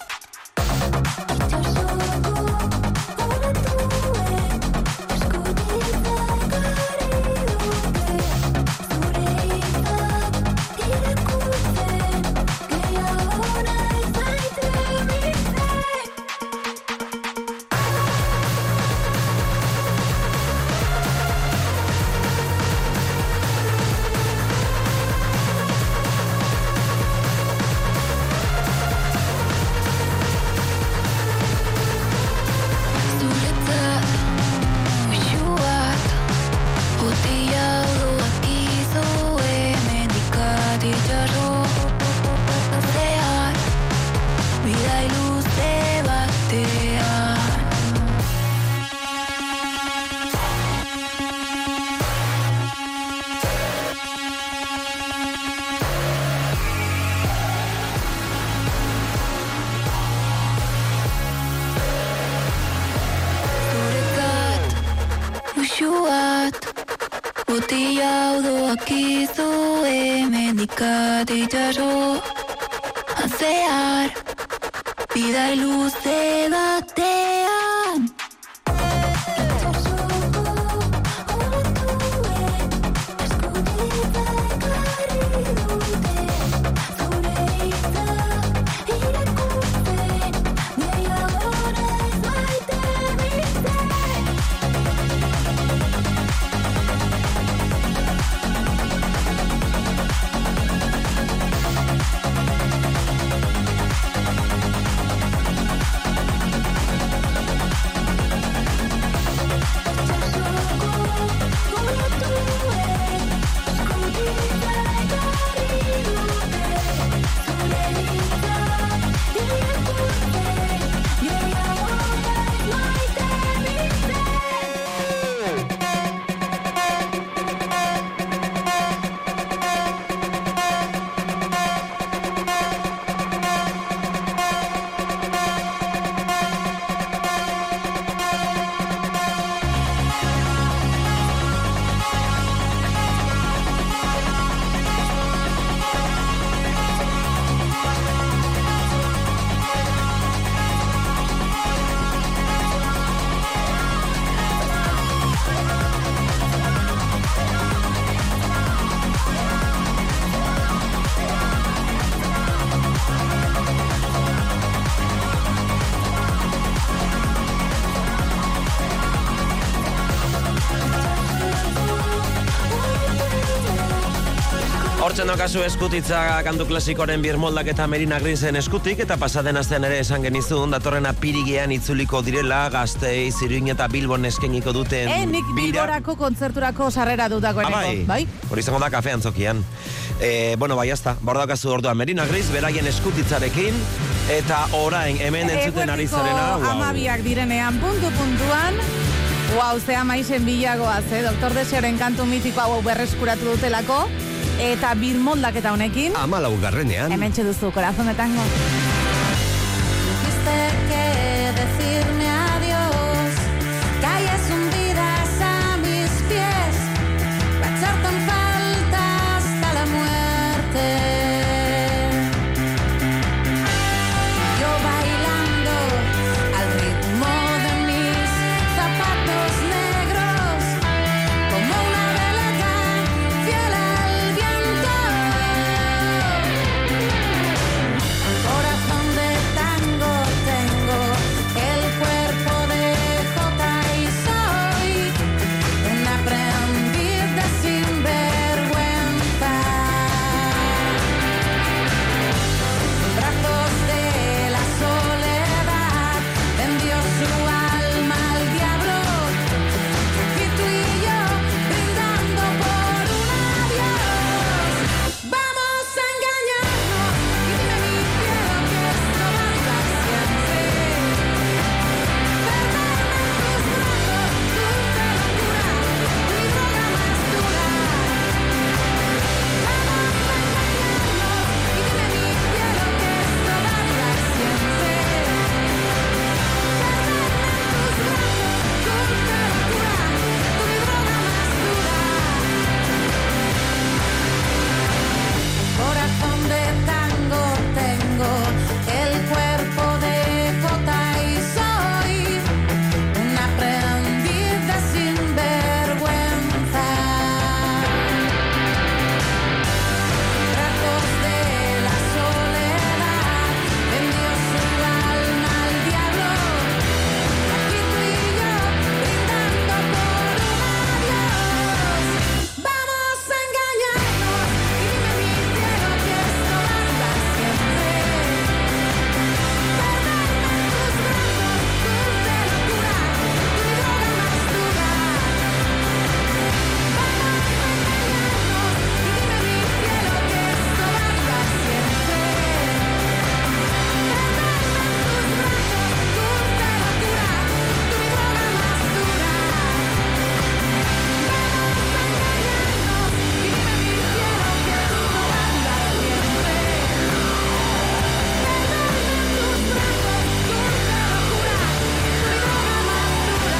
Botilla odoak izu hemendikat itxaso Azear, bidai luze batean. Jotzen dokazu eskutitza kantu klasikoren birmoldak eta Merina Grinsen eskutik, eta pasaden astean ere esan genizun, datorren apirigean itzuliko direla, Gasteiz, Iruin eta Bilbon eskeniko duten nik Bilborako kontzerturako sarrera dutakoeneko, bai? Hori izango da kafean zokian. Bai, hasta, bordakazu orduan Merina Gris, beraien eskutitzarekin, eta orain hemen entzuten ari zarena. Amabiak direnean puntuan, zea maizen bilagoaz, Doktor Deseoren kantu mitiko hau berreskuratu dutelako, eta birmoldaketa honekin 14. Hemen txeduzu, Corazón de Tango. Dijiste que decirme adiós, calles hundidas a mis pies, para echarte en falta hasta la muerte. Yo bailando al ritmo de mis zapatos negros, como una veleta fiel al viento. Corazón de tango tengo, el cuerpo de jota y soy un aprendiz de sinvergüenza. Brazos de la soledad vendió su alma al diablo, y tú y yo brindando por un adiós. Vamos a engañarnos y dime mi cielo que esto va a durar siempre. Perderme en tus brazos, dulce locura, mi droga más dura. Vamos a engañarnos y dime mi cielo que esto va a durar siempre. Corazón de tango tengo, el cuerpo de jota y soy un aprendiz de sinvergüenza. Brazos de la soledad vendió su alma al diablo, aquí tú y yo brindando por un adiós. Vamos a engañarnos y dime mi cielo que esto va a durar siempre. Perderme en tus brazos, dulce locura, mi droga más dura. Vamos a engañarnos y dime mi cielo que esto va a durar siempre. Perderme en tus brazos, dulce locura, mi droga más dura. Vamos a engañarnos y dime mi cielo que esto va a durar siempre. Perderme en tus brazos, dulce locura, mi droga más dura.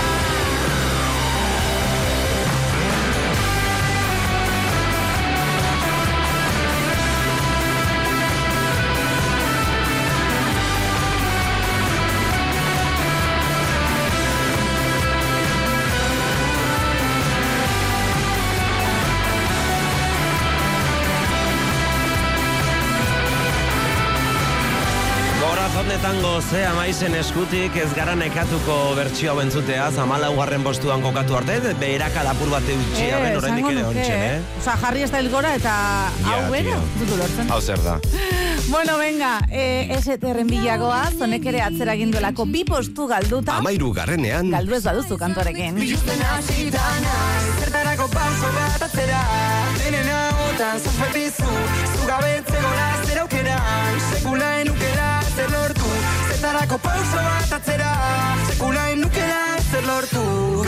Corazón de tango zea maizen eskutik ez gara nekatuko bertsio hau entzuteaz, 14. postuan kokatu arte, beheraka lapur bat eutxia, ben horrendik ere ontsen, Osa, jarri ez da hilgora eta hau bera, dutu lortzen. Hau zer da. Bueno, venga, STR-en bilagoa, zonek ere atzera ginduelako 2 postu galduta. 13. Galdu ez baduzu kantorekin. Biluzten hasita naiz, zertarako pauso bat atzera. Denen ahotan zazpetizu, zugabetzeko zer aukeran. Sekula enukela zer lortu, zertarako pauso bat atzera. Sekula enukela zer lortu.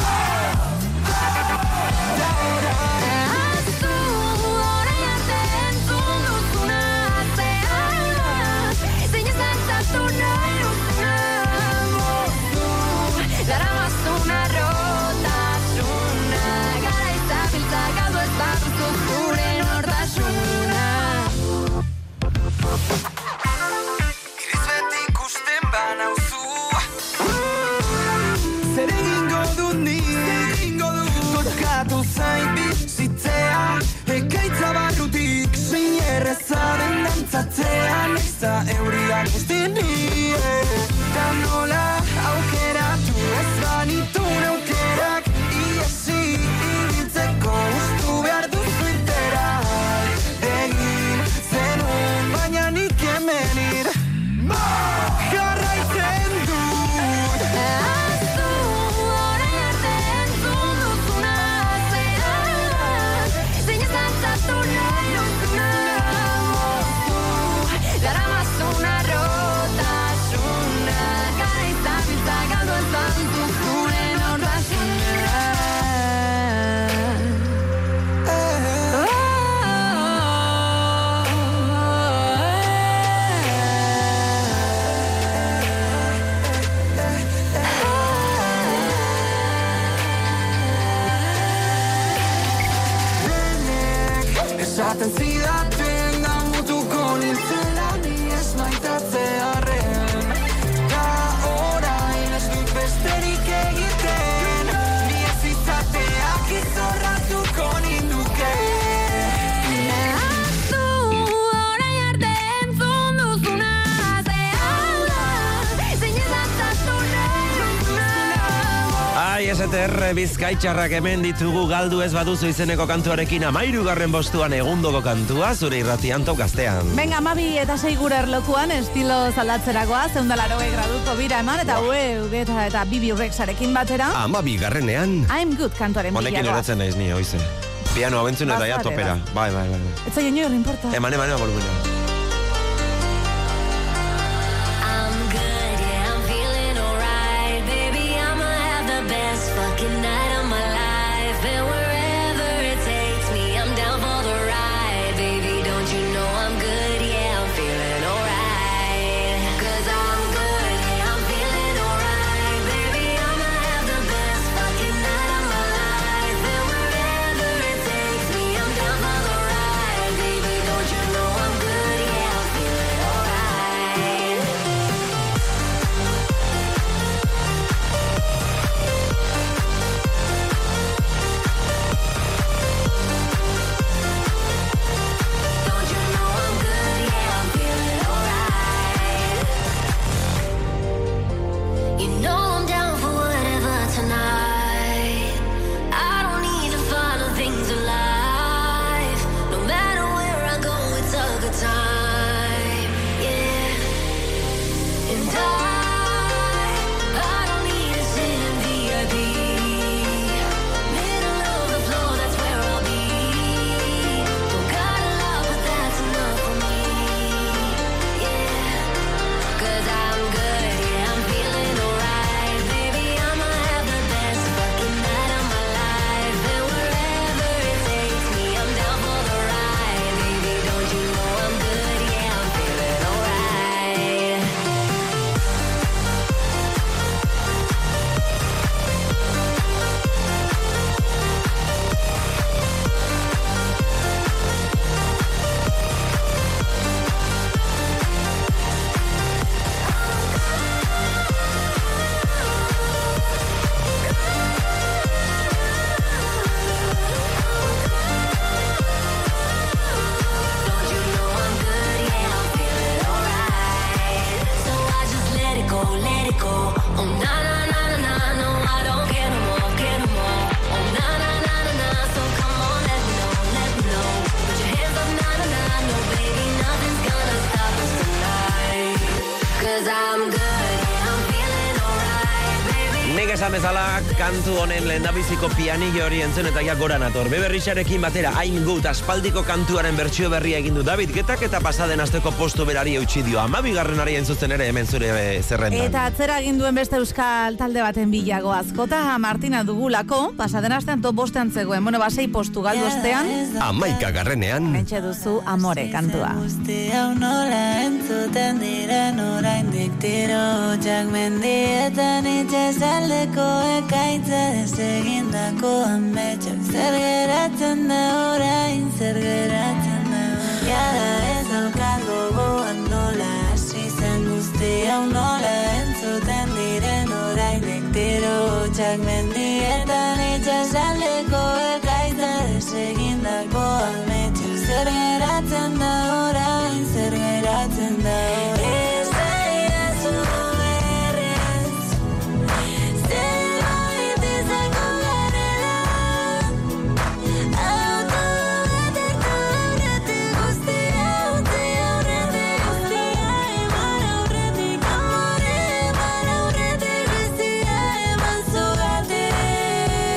Ahaztu orain arte entzun duzuna atzean, zein ez dantzatu nahi duzuna moztu, daramazuna rotasuna, gara izabiltza galdu ez baduzu gure nortasuna. Iriz beti ikusten banauzu. Zer egingo dut nik, tokatu zait bizitzea, ekaitza barrutik zein errezaren dantzatzea, naiza euriak guztini, eta nola aukeratu ez banitu aukerak, iesi ibiltzeko ustu behar duzu interak, Esaten zidaten da mutuko nintzela ni ez maitatzearen. Ta orain ez dut besterik egiten, ni ez izateak izorratuko ninduke. STR Bizkaitxarrak hemen ditugu galdu ez baduzu izeneko kantuarekin 13. postuan egundoko kantua zure irratian Top Gaztean. Venga, 12 eta 6 gure erlokuan estilo zaldatzerakoa 180 graduko bira eman eta ugeta eta Bibi Rexarekin batera. 12. I'm Good kantuaren bilagoa. Honekin eratzen naiz ni, oize. Piano abentzun eta ja topera. Bai. Ez zaien nio importa. Eman volumena. Bezala kantu honen lehendabiziko pianillo hori entzun eta ja gora nator. Beberrixarekin batera I'm Good aspaldiko kantuaren bertsio berria egin du David Getak eta pasaden asteko postu berari eutsi dio 12. entzuten ere hemen zure zerrendan. Eta atzera egin duen beste euskal talde baten bilago azkota Martina dugulako, pasaden astean top bostean zegoen. Bueno, 6 postu galdu ostean. 11. Mentxe duzu Amore kantua. Hau nola entzuten diren oraindik tiro jak mendietan itxasaldeko ekaitza desegindako ametxak zer geratzen da orain, zer geratzen da jada ez daukat gogoan nola hasi zen guzti hau nola entzuten diren oraindik tiro jak mendietan itxasaldeko ekaitza desegindako ametxak zer geratzen da orain, zer geratzen da ez da idazu berriz zerbait izango garela autogatertu aurretik guztia utzi aurretik guztia eman aurretik amore eman aurretik bizia eman zugatik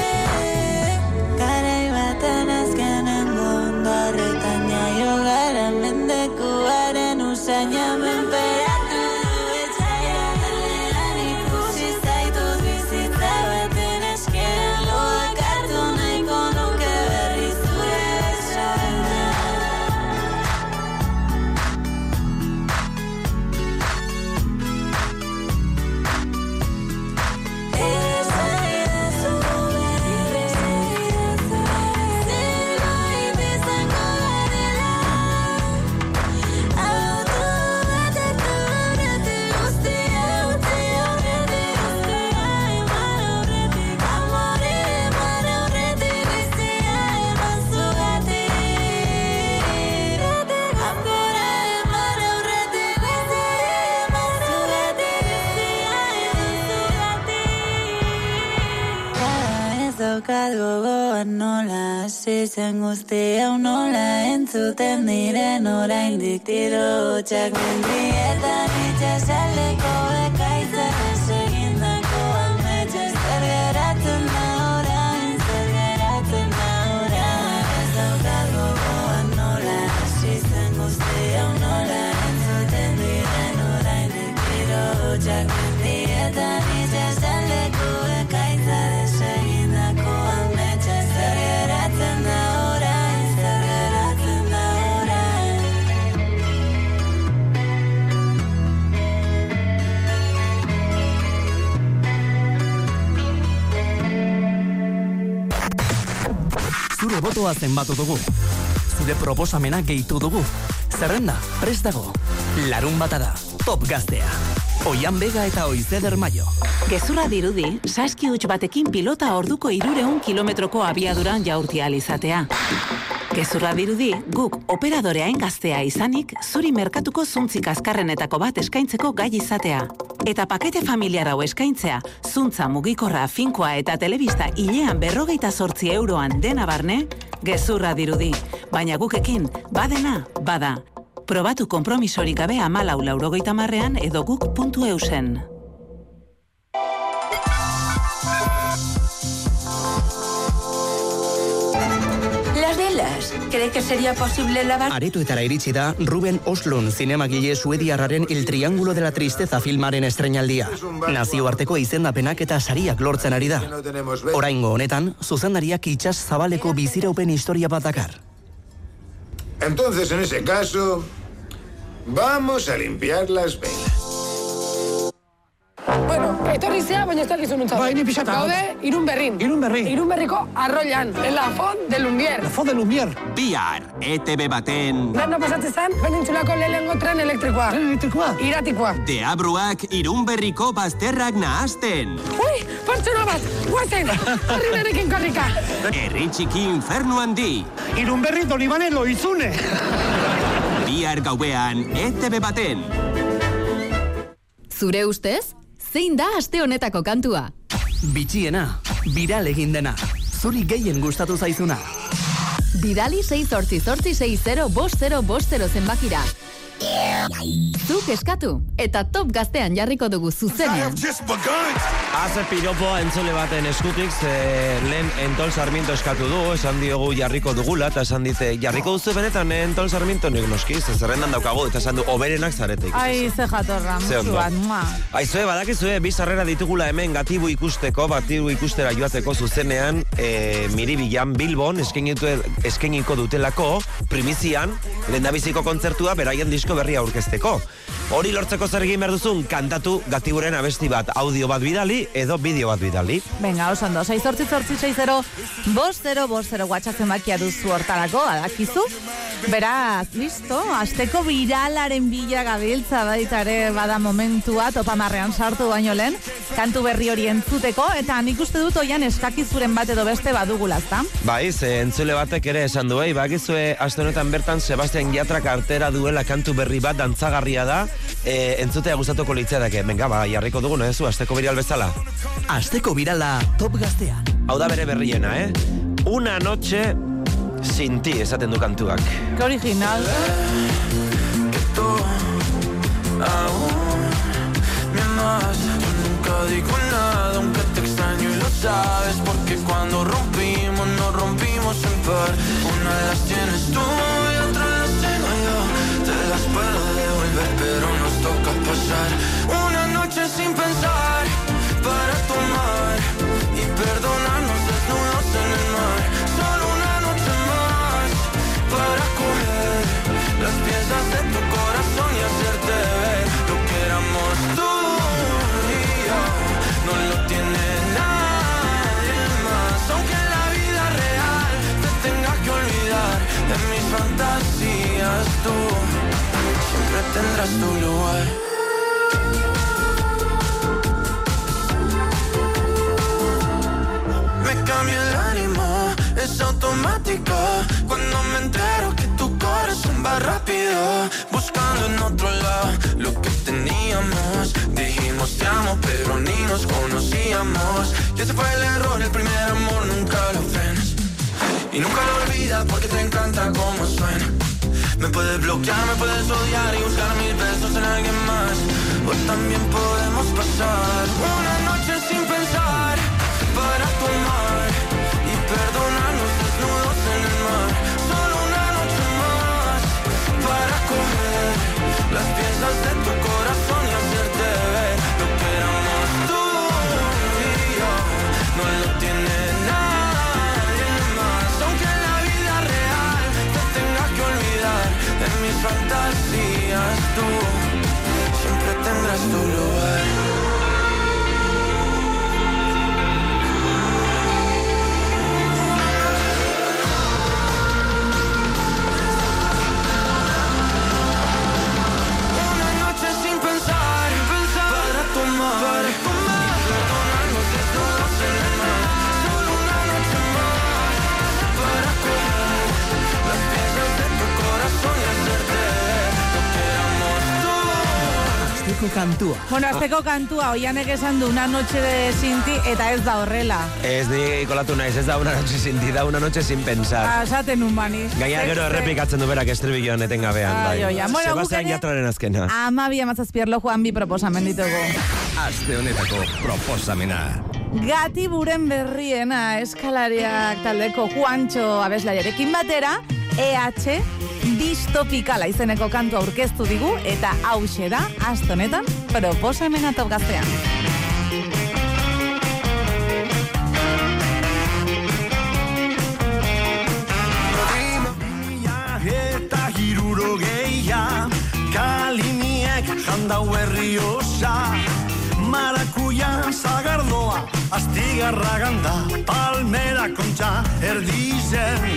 daukat gogoan nola hasi zen guztia nola entzuten diren oraindik tiro hotxak mendietan itxasaldeko bekaitzaz egindako ametxez zer geratzen da orain, zer geratzen da orain. Ez daukat gogoan nola hasi zen guztia nola entzuten diren oraindik tiro hotxak mendietan itxasaldeko bekaitzaz egindako ametxez zer geratzen da orain, zer geratzen da orain. Zure botoa zenbatu dugu. Zure proposamena gehitu dugu. Zerrenda, prest dago. Larun bata da, Top Gaztea. Oian Bega eta Oizeder Maio. Gezurra dirudi, saski huts batekin pilota orduko 300 kilometroko abiaduran jaurti ahal izatea. Gezurra dirudi, guk operadoreain gaztea izanik, zuri merkatuko zuntzik azkarrenetako bat eskaintzeko gai izatea. Eta pakete familiar hau eskaintzea, zuntza mugikorra, finkoa eta telebista hilean 58 euroan dena barne, gezurra dirudi. Baina gukekin, badena, bada. Probatu konpromisorik gabe 14,90 edo guk.eusen. Las velas, ¿cree que sería posible lavar? Aretoetara iritsi da Ruben Östlund zinemagile suediarraren El Triángulo de la Tristeza filmaren estreinaldia. Nazioarteko izendapenak eta sariak lortzen ari da. Oraingo honetan, zuzendariak itsas zabaleko biziraupen historia bat dakar. Entonces, en ese caso, vamos a limpiar las velas. Bueno, etorri zea, baina ez dakizu nuntzat. Bai, ni pixata. Gaude, Irunberrin. Irunberriko Arroian, en la Font de Lumière. La Font de Lumière. Bihar, ETB baten... Berno pasatzen zan, penintsulako lehenengo tren elektrikoa. Tren elektrikoa? Iratikoa. Deabruak Irunberriko bazterrak nahazten. Ui, pertsona bat, guazen, horri berekin korrika. Herri txiki infernu handi. Irunberri Donibane Loizune. Bihar gauean, ETB baten. Zure ustez, zein da aste honetako kantua? Bitxiena, viral egin dena. Zuri gehien gustatu zaizuna. Bidali 688605050 zenbakira. Zuk eskatu, eta Top Gaztean jarriko dugu zuzenean. Haze piropoa entzule baten eskutik, lehen Entol Sarmiento eskatu du, esan diogu jarriko dugula, eta esan dite, jarriko duzu benetan Entol Sarmiento, nik noski, zerrendan daukagu, eta esan du, oberenak zaretek. Ai, ze jatorra, musu bat, mua. Aizue, badakizue, bizarrera ditugula hemen gatibu ikusteko, batibu ikustera joateko zuzenean, Miribilan Bilbon, eskeniko dutelako, primizian, lehendabiziko kontzertua, beraien disko berria aurkezteko. Hori lortzeko zer egin behar duzun, kantatu gatiburen abesti bat, audio bat bidali, edo bideo bat bidali. Venga, osando, 688605050 WhatsApp zenbakia duzu hortarako, adakizu. Beraz, listo, asteko viralaren bila gabiltza baitare bada momentua, topamarrean sartu baino lehen, kantu berri hori entzuteko, eta nik uste dut oian eskakizuren bat edo beste badugula, ezta? Bai, entzule batek ere esan du, bakizue aste honetan bertan Sebastian Yatrak artera duela kantu berri bat dantzagarria da, entzutea gustatuko litzaidake. Venga, jarriko dugu, nezu, asteko viral bezala. Asteko virala Top Gaztean. Hau da bere berriena, Una noche sin ti, esaten du kantuak. Qué original. Que tú aún me amas. Yo nunca digo nada, aunque te extraño y lo sabes. Porque cuando rompimos, nos rompimos en par. Una las tienes tú y otra las tengo yo. Te las puedo devolver, pero nos toca pasar una noche sin pensar para tomar y perdonarnos desnudos en el mar. Solo una noche más para coger las piezas de tu corazón y hacerte ver lo que éramos tú y yo. No lo tiene nadie más, aunque en la vida real te tengas que olvidar de mis fantasías. Tú siempre tendrás tu lugar. Me cambia el ánimo, es automático. Cuando me entero que tu corazón va rápido, buscando en otro lado lo que teníamos. Dijimos te amo, pero ni nos conocíamos. éramos. Y ese fue el error, el primer amor, nunca lo frenes. Y nunca lo olvidas porque te encanta cómo suena. Me puedes bloquear, me puedes odiar y buscar mis besos en alguien más. O también podemos pasar una noche sin pensar para tomar y perdonarnos desnudos en el mar. Solo una noche más para comer las piezas de tu corazón y hacerte ver lo que éramos tú y yo. No lo tiene nadie más, aunque en la vida real te tengas que olvidar de mis fantasías. Tú siempre tendrás tu lugar. Para tomar, perdonarnos desnudos en el mar. Solo una noche más para comer las piezas de tu corazón y hacerte lo que éramos tú. Azteko kantua. Bueno, azteko kantua, Oianek esan du una noche de Sinti eta ez da horrela. Ez ni kolatu naiz, ez da una noche sin ti, da una noche sin pensar. Asaten un bani. Gaina gero errepikatzen du berak estribilloan etengabean. Ai, oia. Bueno, Sebastian Yatraren azkena. 12:17 Juan bi proposamen ditugu. Aste honetako proposamena. Gatiburen berriena eskalariak taldeko Juancho abeslaiarekin batera, EH Distopikala izeneko kantu aurkeztu digu eta hauxe da aste honetan proposamena Top Gaztean. Eta hirurogeia kaliniek jandau herri osa. Marakuya zagardoa, astigarra ganda, palmera kontxa erdizen.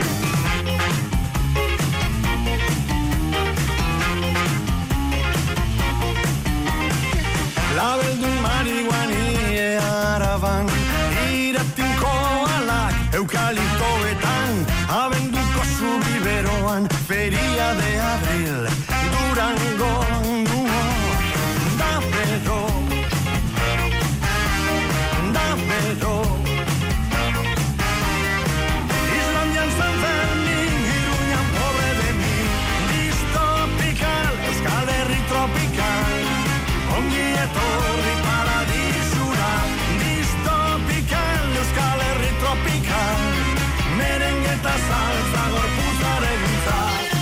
Labeldun marihuani araban, iratinko alak eukaliptoetan, abenduko zubiberoan, feria de abril, Durango, da pero. Islandian San Fermin, Iruñan pobre de mí. Distopical, Euskal Herri tropical. Ongi etorri paradisura. Distopical, Euskal Herri tropical. Merengue eta salsa gorpuzaregintza.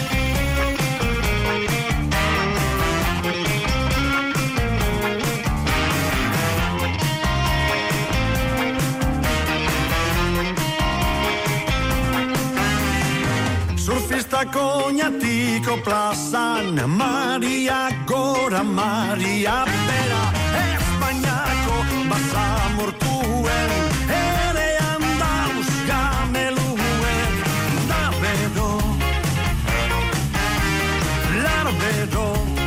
Surfistako Oñatiko plazan, Maria gora, Maria bera, Espainiako basamortuen, ere andauz gameluen, da bedo, lar bedo.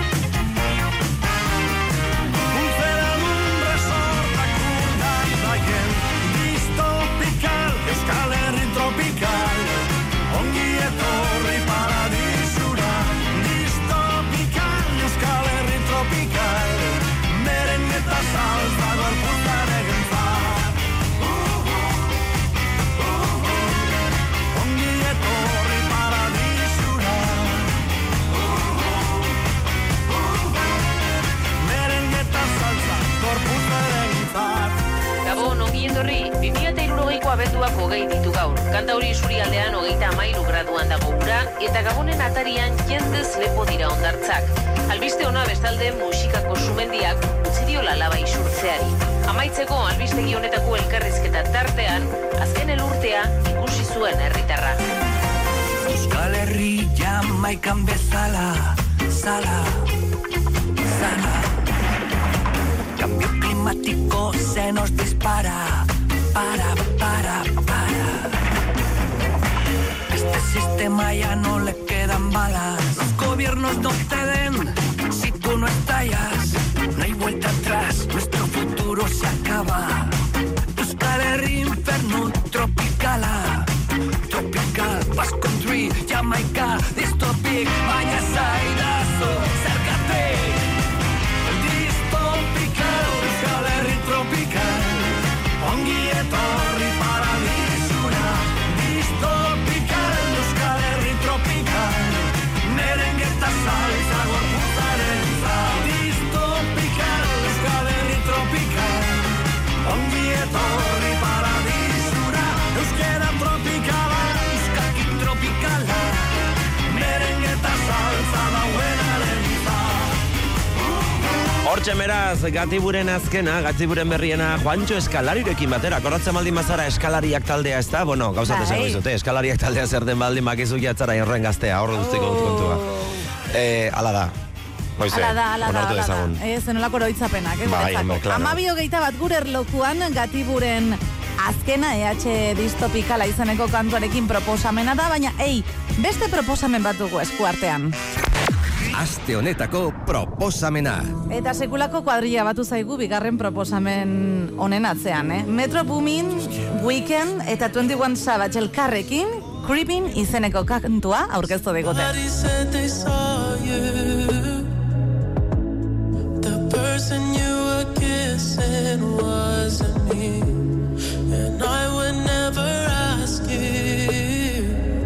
Unzeradun resortak urdan daien, Distopical, Euskal Herri tropical. Ongi etorri paradisura, distopical, Euskal Herri tropical, merengue eta salsa gorpuzaregintza. Ongi etorri paradisura, merengue eta salsa gorpuzaregintza. Gabon, ongi etorri, 2060ko abenduak 20 ditu gaur. Kantauri isurialdean 33 graduan dago ura, eta Gabonen atarian jendez lepo dira hondartzak. Albiste ona bestalde musikako sumendiak utzi diola laba isurtzeari. Amaitzeko albistegi honetako elkarrizketa tartean, azken elurtea ikusi zuen herritarra. Euskal Herri Jamaikan bezala, sala. Cambio climático se nos dispara. Para. Este sistema ya no le quedan balas. Los gobiernos no te den si tú no estallas. No hay vuelta atrás, nuestro futuro se acaba. Euskal Herri inferno tropicala. Tropical, Basque Country, Jamaica, Distopic, baina zaidazu, zergatik. Distopical, Euskal Herri tropical. Hortxe meraz, Gatiburen azkena, Gatiburen berriena, Juancho Eskalarirekin batera. Koratzen baldin mazara eskalariak taldea ez da? Bueno, gauzat esango izute, eskalariak taldea zer den baldin makizu jatzara horren gaztea, horre guztiko dut kontua. Ala da. Hoize, onartu dezagun. Ez, nolako oroitzapenak, ez? Bai, claro. 12:21 gure erlojuan Gatiburen azkena EH distopikala izeneko kantuarekin proposamena da, baina, beste proposamen bat dugu eskuartean. Aste honetako proposamena. Eta sekulako kuadrilla batu zaigu bigarren proposamen honen atzean, Metro Boomin, Weekend eta 21 Savage elkarrekin, Creeping izeneko kantua aurkeztu digute. The person you were kissing wasn't me, and I would never ask you.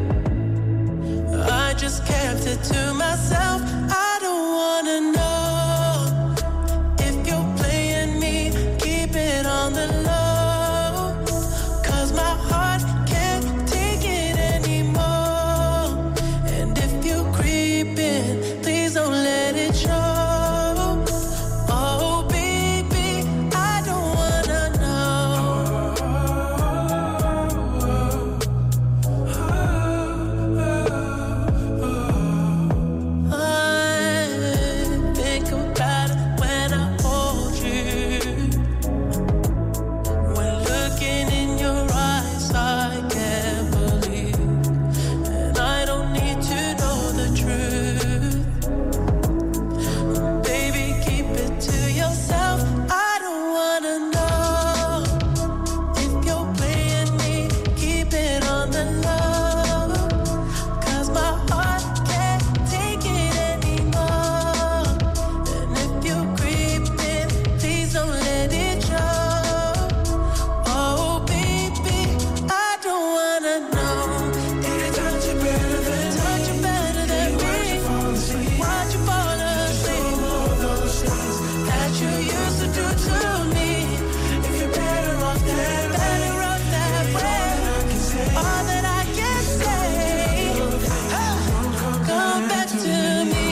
I just kept it to myself. I don't wanna know if you're playing me. Keep it on the low, 'cause my heart can't take it anymore. And if you're creeping, please don't let it show. Oh baby, I don't wanna know. I think about it when I hold you. When looking in your eyes, I can't believe, and I don't need to know the truth. Baby, keep it to yourself. I don't wanna know if you're playing me. Keep it on the low, 'cause my heart can't take it anymore. And if you're creeping, please don't let it show. Oh baby, I don't wanna know. Did it touch you better than me? Why'd you fall asleep? All those things that you used to do to me. If you're better off that way, all that I can say, come back to me.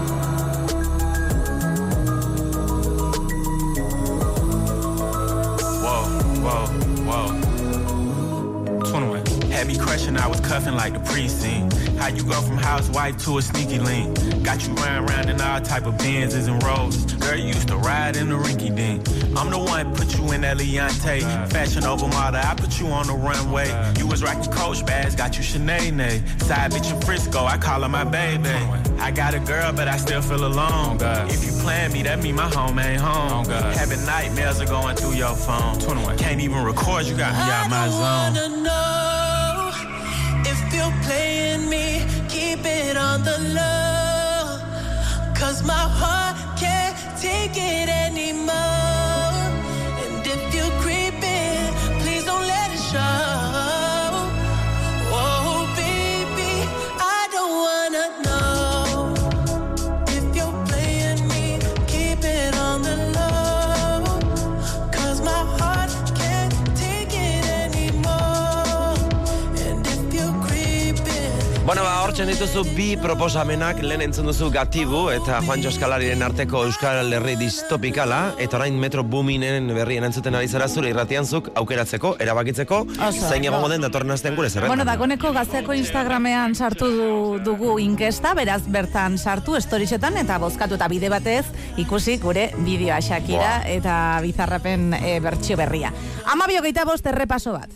Whoa. 21. Had me crushing, I was cuffing like the precinct. How you go from housewife to a sneaky link? Got you running around in all type of Benzes and Rolls. Girl, you used to ride in the rinky dink. I'm the one put you in that Leontay. Fashion over model, I put you on the runway. You was rocking Coach bags, got you Sinead. Side bitch in Frisco, I call her my baby. I got a girl, but I still feel alone. If you plan me, that mean my home ain't home. Having nightmares are going through your phone. 21. Can't even record, you got me out my zone. I don't wanna know if you're playing me. Keep it on the low, 'cause my heart can't take it anymore. And if you're creeping, please don't let it show. Oh baby, I don't wanna know if you're playing me. Keep it on the low, 'cause my heart can't take it anymore. And if you're creeping. Bueno, hortzen dituzu bi proposamenak, lehen entzun duzu Gatibu eta Juancho Eskalariren arteko Euskal Herri distopikala, eta orain Metro Boominen berrien entzuten ari zara zure irratian zuk aukeratzeko, erabakitzeko, zein egongo den datorren astean gure zerrendan. Bueno, dagoneko gazteako Instagramean sartu dugu inkesta, beraz bertan sartu storiesetan eta bozkatu eta bide batez ikusi gure bideoa Shakira eta Bizarrapen bertsio berria. 12:25 errepaso bat.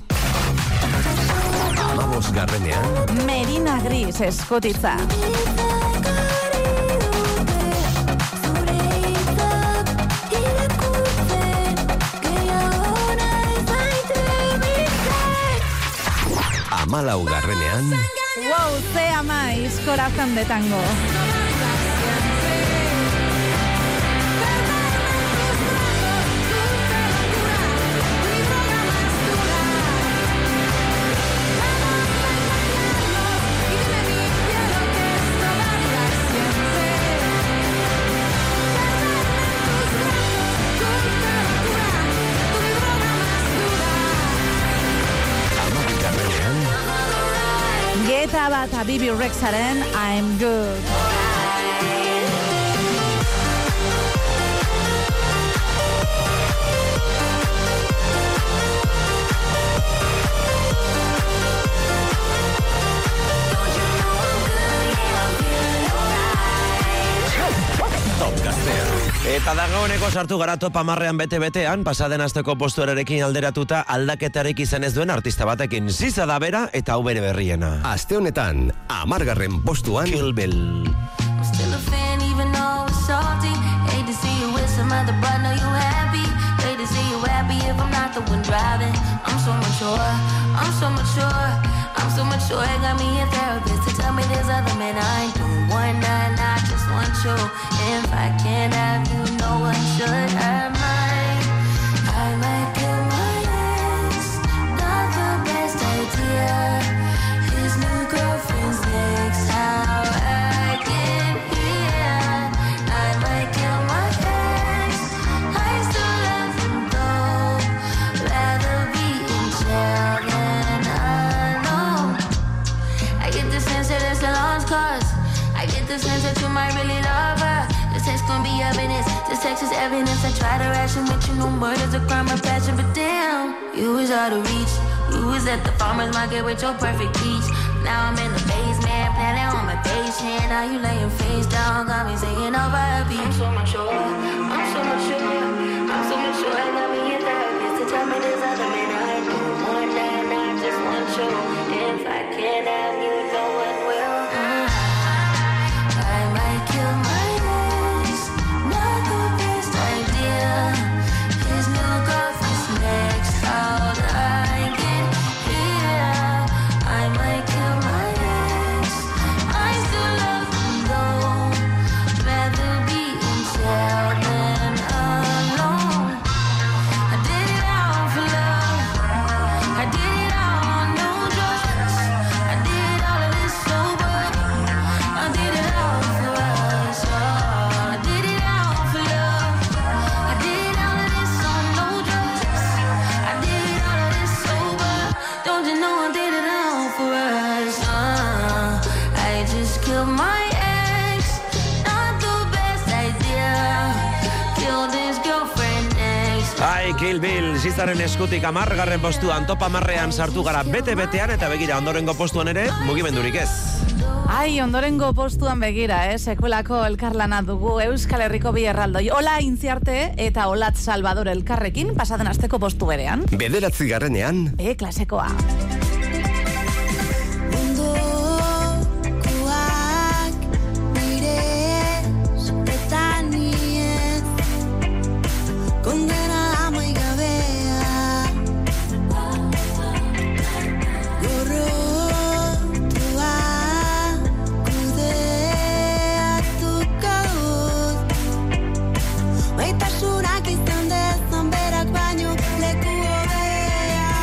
15. Merina Gris eskotitza. Amalaugarrenean. Wow, ze amaiz, corazón de tango. Geta bat a Bibi Rexaren I'm Good. Dagoeneko sartu gara top 10ean bete-betean, pasaden asteko postuarekin alderatuta aldaketarik izan ez duen artista batekin. Ziza da bera eta hau bere berriena. Aste honetan, 10. postuan Kill Bill. I'm still a fan even though it's salty. Hate to see you with some other, but know you happy. Hate to see you happy if I'm not the one driving. I'm so mature, I'm so mature, I'm so mature. It got me a therapist to tell me there's other men I ain't doing one night, I just want you. If I can't have you, no one should have mine. I might kill my ex, not the best idea. His new girlfriend's next, how I get here. I might kill my ex, I still love him though. Rather be in jail than alone. I get the sense that it's a lost cause. I get the sense that you might really love her. This text gon' be evidence, this text is evidence. I try to ration with you, no murder's a crime of passion. But damn, you was out of reach. You was at the farmer's market with your perfect peach. Now I'm in the basement, planning on my patient. Now you laying face down, got me singing over a beat. I'm so mature, I'm so mature, I'm so mature. I got me a therapist to tell me there's other men I do. One night, I just want you. If I can't have you, no one will. I might kill my ex, not the best idea. His new girlfriend's next, how'd I get here? I might kill my ex, I still love him though. Rather be in jail than alone. I did it all for love, I did it all on no drugs. I did all of this sober, I did it all for us. I did it all for love, I did all of this on no drugs. I did all of this sober, don't you know I did it all for us. I just killed my ex, not the best idea. Killed his girlfriend next. Ai, Kill Bill, zizaren eskutik 10. postuan, top 10ean sartu gara bete-betean, eta begira ondorengo postuan ere, mugimendurik ez. Ai, ondorengo postuan begira, sekuelako elkarlana dugu Euskal Herriko bi erraldoi. Ola Intziarte eta Olat Salvador elkarrekin pasaden asteko postu berean. 9. Klasekoa. Maitasunak izan dezan berak baino leku hobea.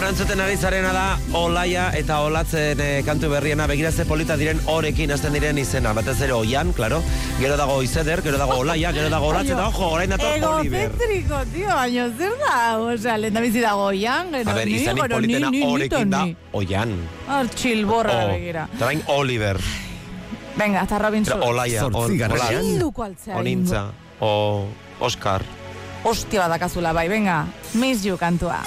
Bueno, entzuten ari zarena da Olaia eta Olatzen kantu berriena. Begira ze polita diren horekin hasten diren izena. Batez ere Oian, claro. Gero dago Izeder, gero dago Olaia, gero dago Olatz eta ojo, orain dator Oliver. Egocentriko, tío, baino zer da? Osea, lehen da bizi dago Oian, gero a ver, izanik politena horekin da Oian. Txilborra begira. Eta bain Oliver. Venga, hasta Robin Schulz. Olaia, Onintza, Oscar. Hostia badakazula bai, venga. Miss You kantua.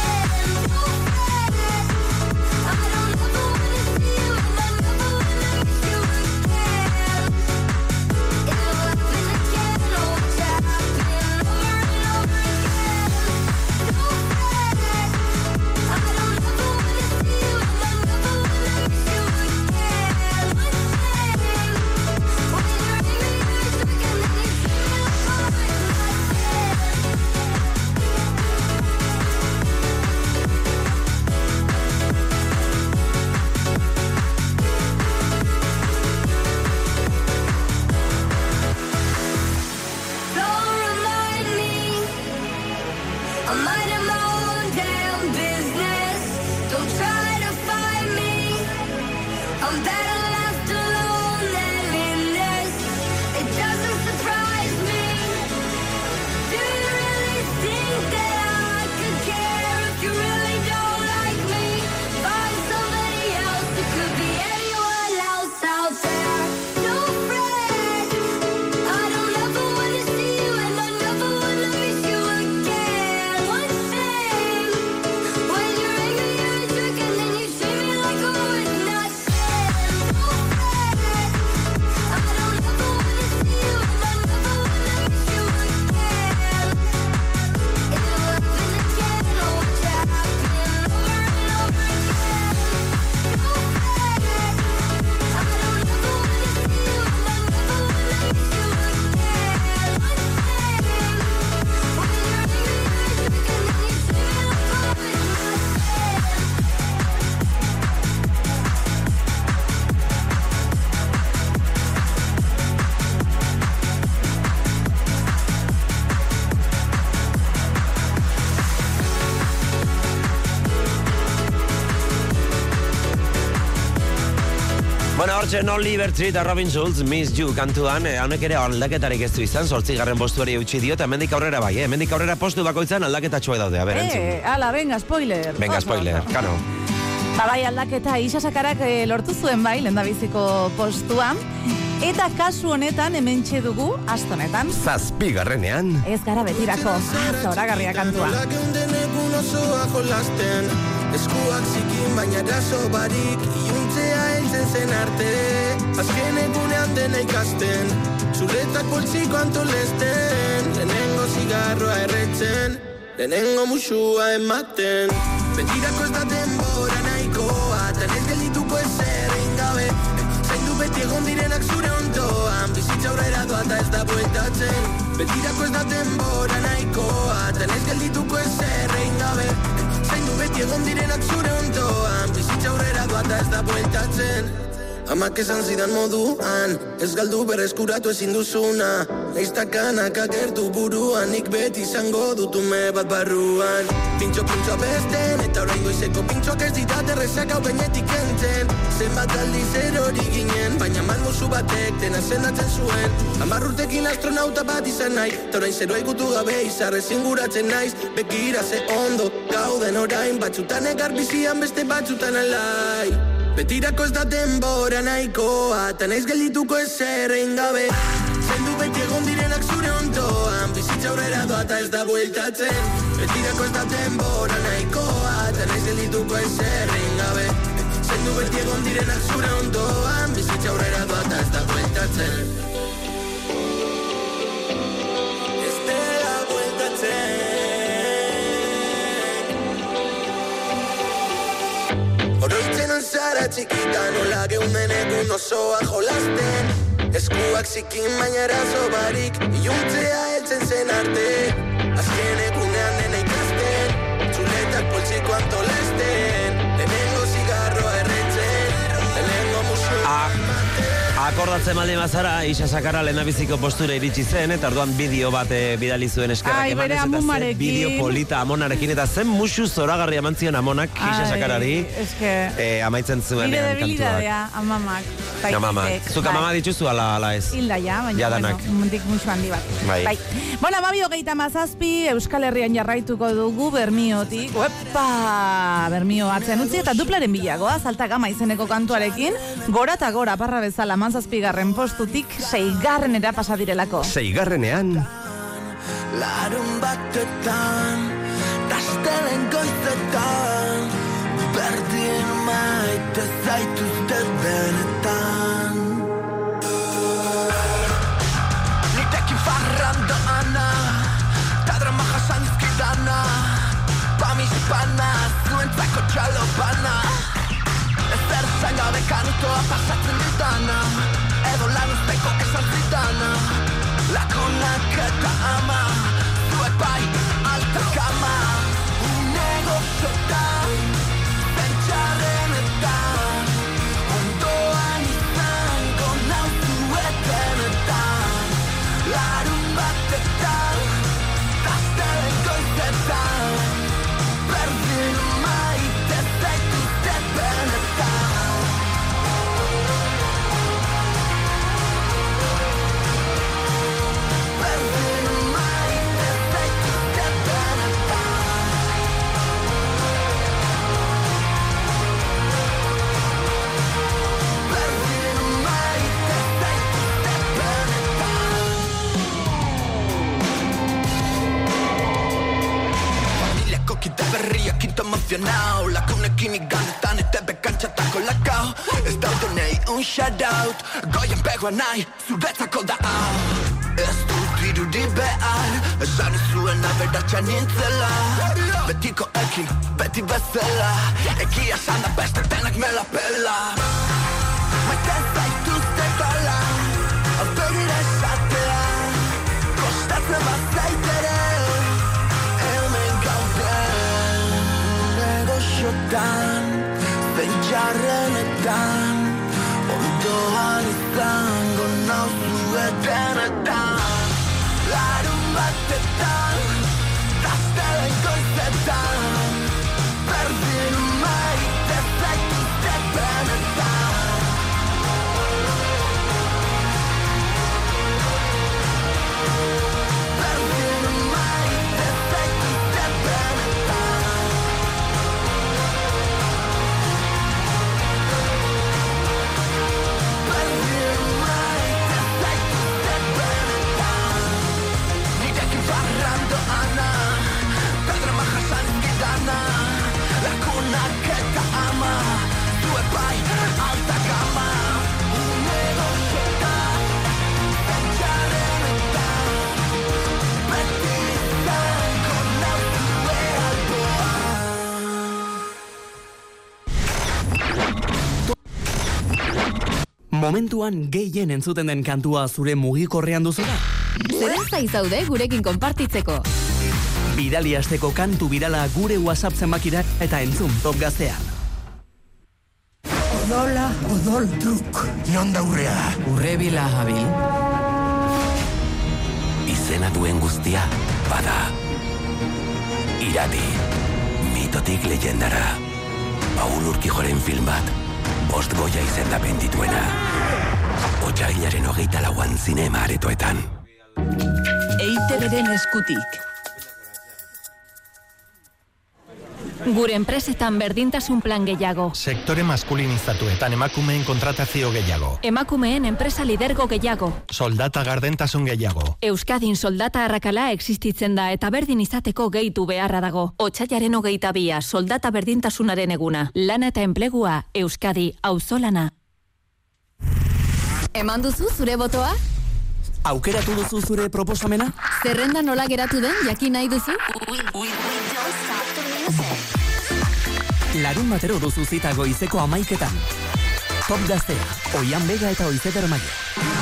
Bueno, hortzen Oliver Tree eta Robin Schulz, Miss You kantuan, haunek ere aldaketarik ez du izan, 8. postuari eutxi dio, eta hemendik aurrera bai, hemendik aurrera postu bakoitzan aldaketatxoa daude, a ber, entzun. Ala, venga, spoiler. Venga, spoiler, kano. Bai, aldaketa Isasakarak lortu zuen bai, lendabiziko postuan, eta kasu honetan hementxe dugu, astonetan. 7. Ez gara betirako, zoragarria kantua. Eskuak zikin baina eraso barik, iuntzea heltzen zen arte. Azken egunean dena ikasten, zuretak poltsiko antolesten. Lehenengo zigarroa erretzen, lehenengo musua ematen. Betirako ez da denbora nahikoa, tan ez geldituko ezer egin gabe. Zaindu beti egon direnak zure ondoan, bizitza aurrera doa eta ez da bueltatzen. Betirako ez da denbora nahikoa, tan ez geldituko ezer egin gabe. Zaindu beti egon direnak zure ondoan, bizitza aurrera doa eta ez da bueltatzen. Amak esan zidan moduan, ez galdu berreskuratu ezin duzuna. Neiztakanak agertu buruan, nik beti izango dutume bat barruan. Pintxo besten, eta orain goizeko pintxoak ez ditate rezak hau benetik enten. Zenbat aldiz erori ginen, baina malmuzu batek dena sendatzen zuen. 10 urtekin astronauta bat izan nahi, eta orain zero egutu gabe izarrezin guratzen naiz. Bekira ze ondo, gauden orain, batzutan egar bizian beste batzutan alai. Betirako ez da denbora nahikoa, eta naiz geldituko ezer egin gabe. Zaindu beti egon direnak zure ondoan, bizitza aurrera doa eta ez da bueltatzen. Betirako ez da denbora nahikoa, eta naiz geldituko ezer egin gabe. Zaindu beti egon direnak zure ondoan, bizitza aurrera doa eta ez da bueltatzen. Ez dela bueltatzen. Oroitzen zara txikita nola geunden egun osoa jolasten. Eskuak zikin baina eraso barik, iluntzea heltzen zen arte. Azken egunean dena ikasten, txuletak poltsiko antolesten. Lehenengo zigarroa erretzen, lehenengo musua ematen. Akordatzen baldin bazara, Isa Sakara lehendabiziko postura iritsi zen, eta orduan bideo bat bidali zuen eskerrak emanez, eta zen bideo polita Amonarekin, eta zen musu zoragarri eman zion Amonak Isa Sakarari amaitzen zuen kantuak. Amamak. Zuk amama dituzu ala ez? Hilda baina, mundik musu handi bat. Bai. Bueno, 27 Euskal Herrian jarraituko dugu Bermiotik. Uepa! Bermio hartzen utzi eta duplaren bilagoa, Alta Gama izeneko kantuarekin, gora eta gora parra bezala 17. postutik 6. pasa direlako. 6. Larun batetan, tastelen goizetan, berdin maite zaituzte benetan. Nitekin farrando ana, ta drama jasan izkidana, pamispana, zuentzako txalopana. Ezer zangabe kanutoa pasatzen ditana, edo lan usteko esan zitana. Lagunak eta ama, zuek bai alta kama. Negoziotan, pentsarrenetan, ondoan izango nauzuetenetan. Larun batetan, tastelen goizetan, berdin maite zaituzte benetan. Kite berria, quinto emozionao, lagunekin igandetan etebe kantxatako lakao. Ez daudonei un shoutout, goien pegoa nahi, zuretzako da hau. Ez dut irudi behar, esan izuen aberatxan nintzela. Betiko ekin, beti bezala, egia esan da beste denak me la pela. Maite zaituzte gola, aurpegira esatea, kostatzen bazaitere. Negoziotan, pentsarenetan, ondoan izango nauzuetenetan. Larun batetan, tastelen goizetan, berdin maite zaituzte benetan. Berdin maite zaituzte benetan. Momentuan gehien entzuten den kantua zure mugikorrean duzu da? Zeren zaizaude gurekin konpartitzeko. Bidali asteko kantu birala gure WhatsApp zenbakira eta entzun Top Gaztean. Odola, odol truk, non daurrea? Urrebila habil. Izena duen guztia, bada. Irati, mitotik leyendara. Paul Urkijoren film bat, 5 Goya izendapen dituena. Otsailaren 24an zinema aretoetan. EITB-ren eskutik. Gure enpresetan berdintasun plan gehiago. Sektore maskulinizatuetan emakumeen kontratazio gehiago. Emakumeen enpresa lidergo gehiago. Soldata gardentasun gehiago. Euskadin soldata arrakala existitzen da eta berdin izateko gehitu beharra dago. Otsailaren 22a soldata berdintasunaren eguna. Lana eta enplegua Euskadi auzolana. Eman duzu zure botoa? Aukeratu duzu zure proposamena? Zerrenda nola geratu den jakin nahi duzu? Larun batero duzu zita goizeko 11etan. Top Gaztea, Oian Bega eta Oizeter Maia.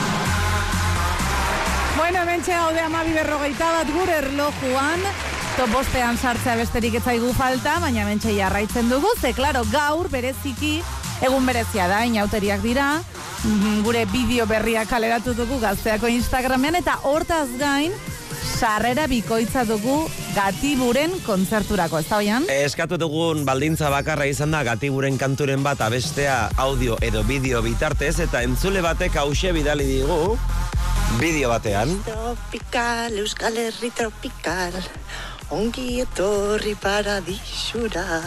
Bueno, hementxe gaude 12:41 gure erlojuan. Top 5ean sartzea besterik ez zaigu falta, baina hementxe jarraitzen dugu. Ze, klaro, gaur bereziki, egun berezia da, inauteriak dira. gure bideo berria kaleratu dugu Gazteako Instagramean, eta hortaz gain, sarrera bikoitza dugu Gatiburen kontzerturako, ez da oian? Eskatu dugun baldintza bakarra izan da Gatiburen kanturen bat abestea audio edo bideo bitartez, eta entzule batek hause bidali digu bideo batean. Tropical, Euskal Herri tropical, ongi etorri paradisura.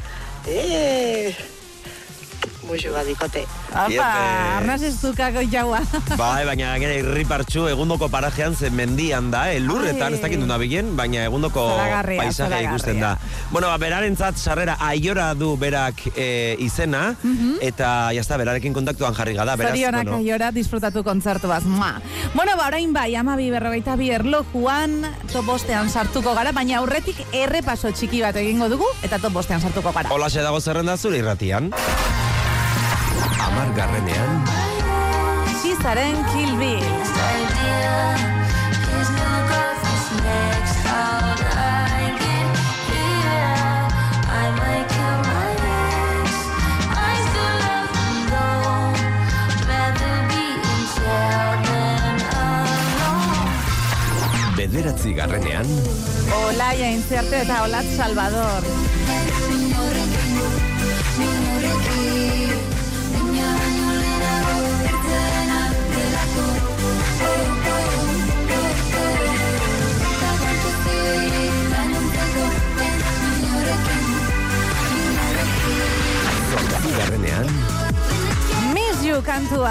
Muxu badikote. Apa, arnaz ez dukako jaua. Bai, baina gara irripartxu egundoko parajean zen mendian da, lurretan, ez dakit duna bilen, baina egundoko paisaje ikusten da. Bueno, berarentzat sarrera Aiora du berak izena, eta jazta, berarekin kontaktuan jarri gada. Zorionak Aiora disfrutatu kontzertu baz. Bueno, orain bai, 12:42 erlojuan top bostean sartuko gara, baina aurretik errepaso txiki bat egingo dugu, eta top bostean sartuko gara. Holaxe dago zerrenda zure irratian. 10. Xizaren Kill Bill. Bederatzi garrenean. Olaia Intziarte eta Olat Salvador. Garrenean. Miss You kantua.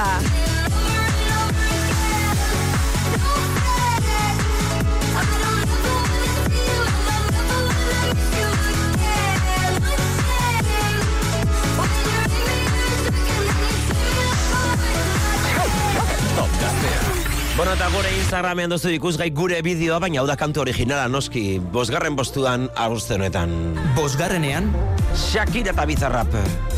Bueno, eta gure Instagramean dozu ikusgai gure bideoa, baina hau da kantu originala noski. 5. postuan abuzte honetan. 5. Shakira eta Bizarrap.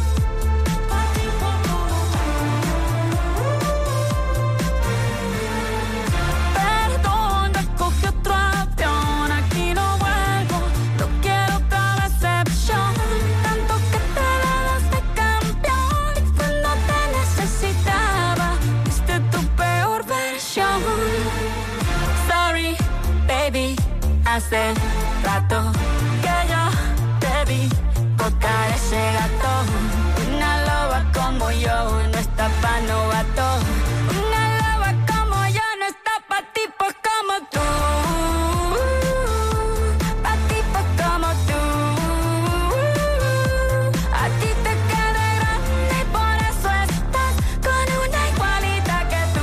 Hace rato que yo te vi tocar ese gato. Una loba como yo no está pa' novato. Una loba como yo no está pa' tipos como tú. Pa' tipos como tú. A ti te queda grande y por eso estás con una igualita que tú.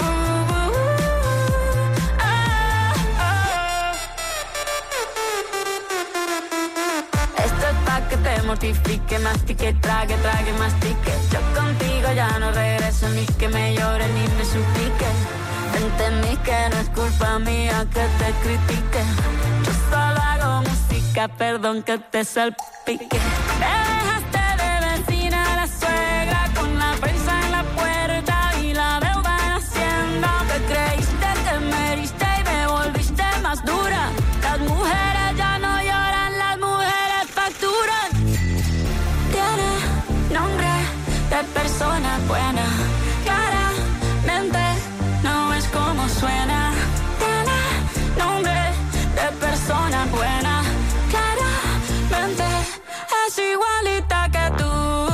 Que te mortifique, mastique, trague, mastique. Yo contigo ya no regreso, ni que me llore ni me suplique. Entendí que no es culpa mía que te critique. Yo solo hago música, perdón que te salpique. Me dejaste de vecina a la suegra, con la prensa en la puerta y la deuda en Hacienda. Te creíste que me heriste y me volviste más dura. Las mujeres ya no lloran, las mujeres facturan. Tiene nombre de persona buena, claramente no es como suena. Tiene nombre de persona buena, claramente es igualita que tú.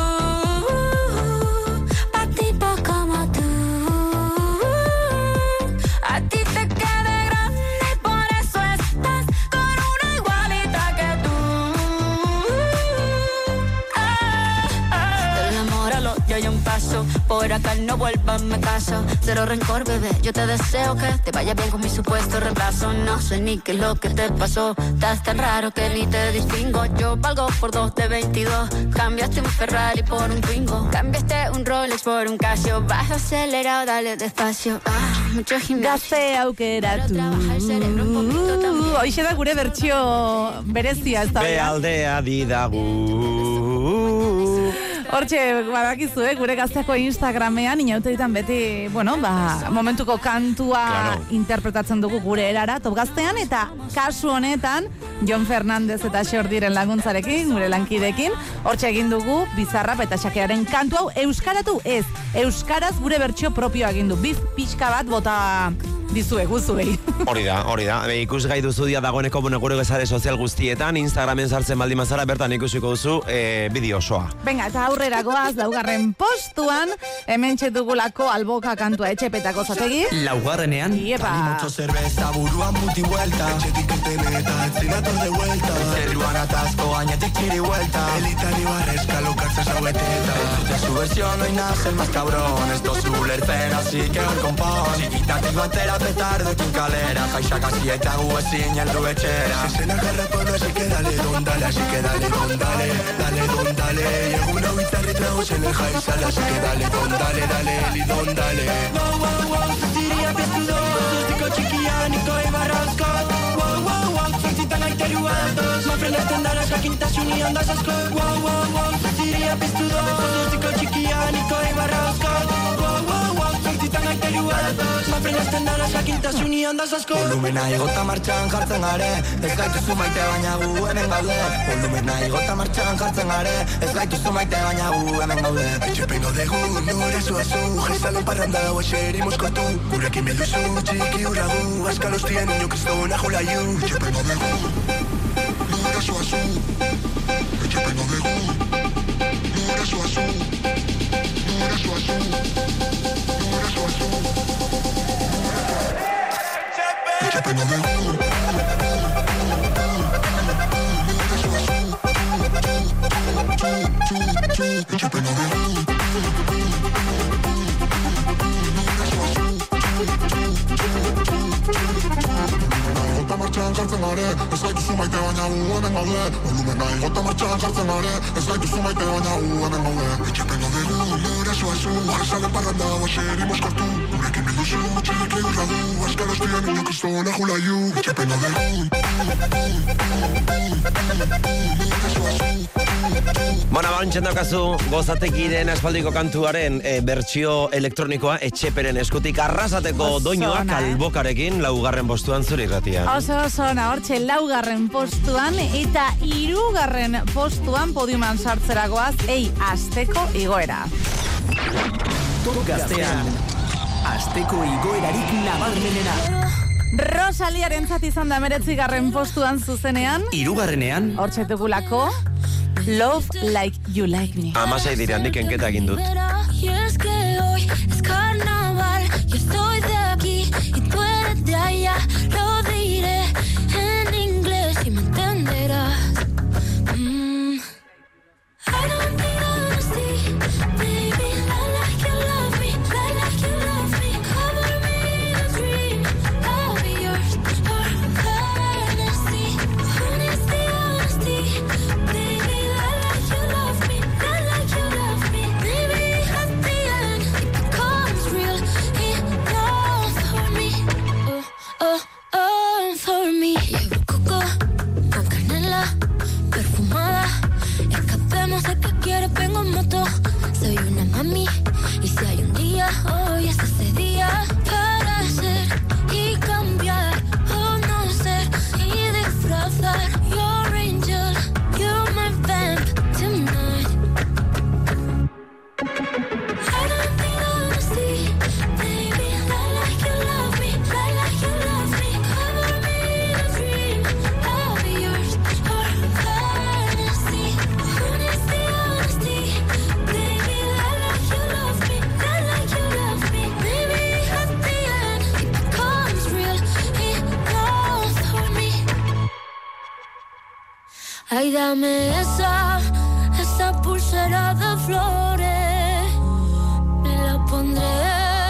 Pa' tipo como tú. A ti te queda grande y por eso estás con una igualita que tú. Del amor al odio hay un paso, por acá no vuelvas, me caso. Cero rencor, bebé, yo te deseo que te vaya bien con mi supuesto reemplazo. No sé ni qué es lo que te pasó, estás tan raro que ni te distingo. Yo valgo por 2 de 22, cambiaste un Ferrari por un Twingo. Cambiaste un Rolex por un Casio, vas acelerado, dale despacio. Mucho gimnasio. Gazte aukeratu. Hoxe da gure bertsio berezia, ez da? Bealdea didagu. Hortxe, badakizu, gure gazteako Instagramean, inauteritan beti, momentuko kantua interpretatzen dugu gure erara, top gaztean, eta kasu honetan, Jon Fernandez eta Xordiren laguntzarekin, gure lankidekin, hortxe egin dugu Bizarrap eta Xakearen kantu hau euskaratu ez, euskaraz gure bertsio propioa egin du, pixka bat bota dizue, guzuei. Hori da. Ikusgai duzu dia dagoeneko gure gezare sozial guztietan, Instagramen sartzen baldin mazara, bertan ikusiko duzu bideo osoa. Venga, eta aurrera goaz, 4. postuan, hemen txetugulako alboka kantua etxepetako zategi. 4. Iepa. Mucho cerveza, buruan multivuelta. Etxetik irteneta, etzinator de vuelta. Zerruan atasco, añetik txiri vuelta. Elitan y barrezca, lokartza saueteta. De su versión hoy nace el más cabrón. Esto es ulertzen, así que hoy compón. Chiquitatik batera petardekin kalera. Jaixak hasi eta gu ezin heldu etxera. Esena garrapona, así que dale don dale. Así que dale don dale, dale don dale. Y egun hau itzarri tragos en el jaizal. Así que dale don dale, dale eli don dale. Wow, wow, wow, zutiria piztudo. Zuztiko txikianiko ibarrazko. Wow, wow, wow, zortzitan aiterua datoz. Mafrenesten dara jakintasuni ondaz asko. Wow, wow, wow, zutiria piztudo. Zuztiko txikianiko ibarrazko. Wow, wow, wow, zortzitan aiterua datoz. Mafrenesten dara jakintasuni ondaz asko. Volumena igota martxan jartzen gare. Ez gaituzu maite baina gu hemen gaude. Volumena igota martxan jartzen gare. Ez gaituzu maite baina gu hemen gaude. Etxepengo dugu, nore zuazu. Jezalon parranda hau eserimos kortu. Gurekin bilduzu, txiki urragu. Azkal hostien niño kristona jolaiu. Etxepengo dugu, nore zuazu. Etxepengo dugu, nore zuazu. Nore zuazu. Nore zuazu. Etxepengo dugu. Etxepengo dugu. Igota martxan jartzen gare, ez gaituzu maite baina gu hemen gaude. Volumena igota martxan jartzen gare, ez gaituzu maite baina gu hemen gaude. Etxepengo dugu, nore zuazu, jezalen parranda baserimos kortu. Gurekin bilduzu, txiki urradu, azkal hostien niño kristona jolaiu. Etxepengo dugu. Bantxen daukazu, gozatekiren aspaldiko kantuaren bertsio elektronikoa etxeperen eskutik arrasateko doinuak albokarekin 4. postuan zure irratia. Oso, hortxe 4. postuan eta 3. postuan podiuman sartzeragoaz, asteko igoera. Top gaztean, asteko igoerarik nabarmenena. Rosaliaren zati izan da 9. postuan zuzenean. 3. Hortxe dugulako Love Like You Like Me. 16 dira, nik enketa egin dut. Y es que hoy es carnaval, yo estoy de aquí y tú eres de allá. Lo diré en inglés y me entenderás. I don't need honesty, baby. I like you love me, I like you love me. Cover me in a dream, I'll be yours for honesty. Honesty, honesty, baby. I like you love me, I like you love me. Maybe at the end it becomes real enough for me. Oh, for me. Llevo coco con canela perfumada. Escapemos de que quieres, vengo en moto. Soy una mami y si hay un día, hoy es ese día para ser y cambiar o no ser y disfrazar. Your angel, you're my vamp tonight. I don't need honesty, baby. I like you love me, I like you love me. Cover me in a dream, I'll be yours for honesty. Honesty, honesty, baby. I like you love me, I like you love me. Maybe at the end it becomes real enough for me. Ay, dame esa pulsera de flores. Me la pondré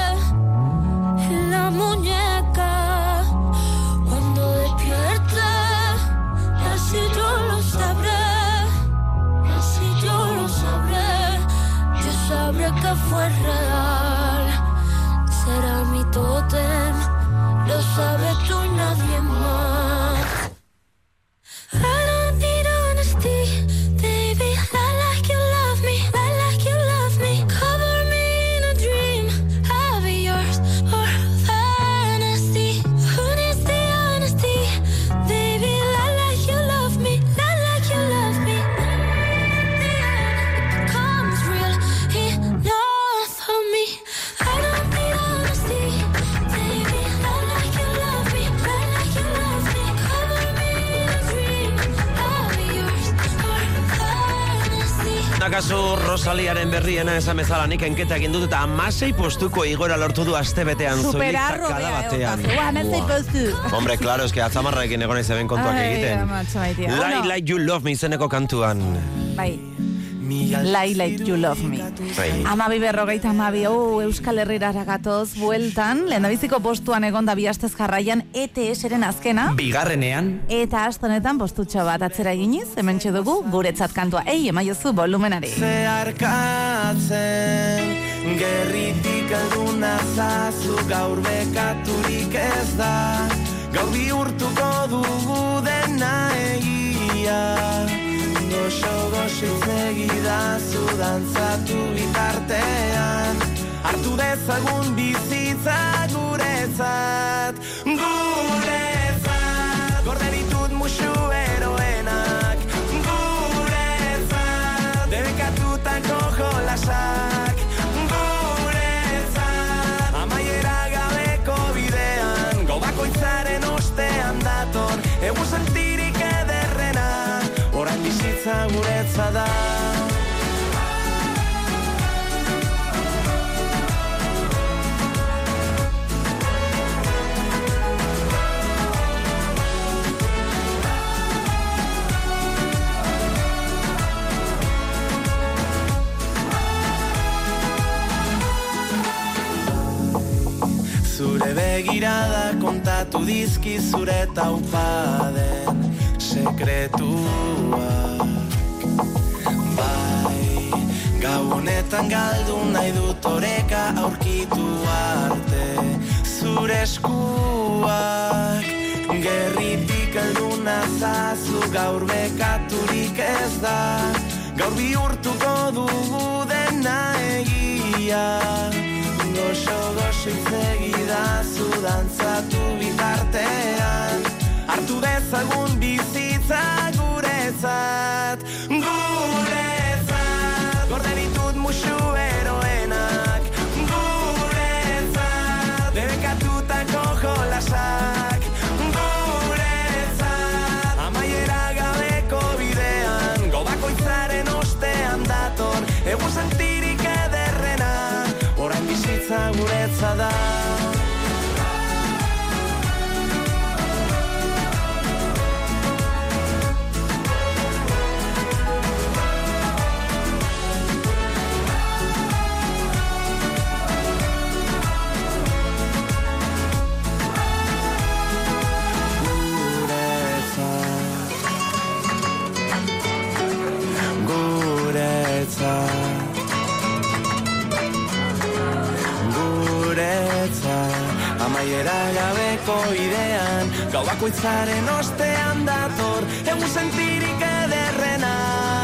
en la muñeca cuando despierte. Así yo lo sabré, así yo lo sabré. Yo sabré que fue real. Será mi tótem, lo sabes tú y nadie más. I don't need honesty, baby. I like you love me, I like Rosaliaren berriena esan bezala nik enketa egin dut eta 16 postuko igora lortu du astebetean zoilik takada batean. Hombre, claro, es que atzamarraekin egon izen kontuak egiten. Lie Like You Love Me izeneko kantuan. Bai. Lie Like You Love Me. Amabi berrogeita amabi, Euskal Herrira gatoz bueltan, lehendabiziko postuan egonda bi astez jarraian ETS-eren azkena. Bigarrenean. Eta astonetan postutxo bat atzera eginiz, hementxe dugu guretzat kantua. Emaiozu volumenari. Zeharkatzen, gerritik alduna zazu gaur bekaturik ez da. Gaur bihurtuko dugu dena egia. Goxo-goxo segidazu dantzatu bitartean. Hartu dezagun bizitza guretzat. Guretzat, gorde ditut musu eroenak. Guretzat, debekatutako jolasak. Guretzat, amaiera gabeko bidean. Gau bakoitzaren ostean dator, egun sentirik ederrena. Orain bizitza guretza da. Zure begirada kontatu dizki zure taupaden sekretuak. Bai, gau honetan galdu nahi dut oreka aurkitu arte zure eskuak. Gerritik alduna zazu gaur bekaturik ez da. Gaur bihurtuko dugu dena egia. Goxo-goxo segidazu dantzatu bitartean. Hartu dezagun bizitza guretzat. Guretzat, gorde ditut musu eroenak. Guretzat, debekatutako jolasak. Guretzat, amaiera gabeko bidean. Gau bakoitzaren ostean dator, egun sentirik ederrena. Orain bizitza guretza da. Amaiera gabeko idean, gau bakoitzaren ostean dator, egun sentirik ederrena.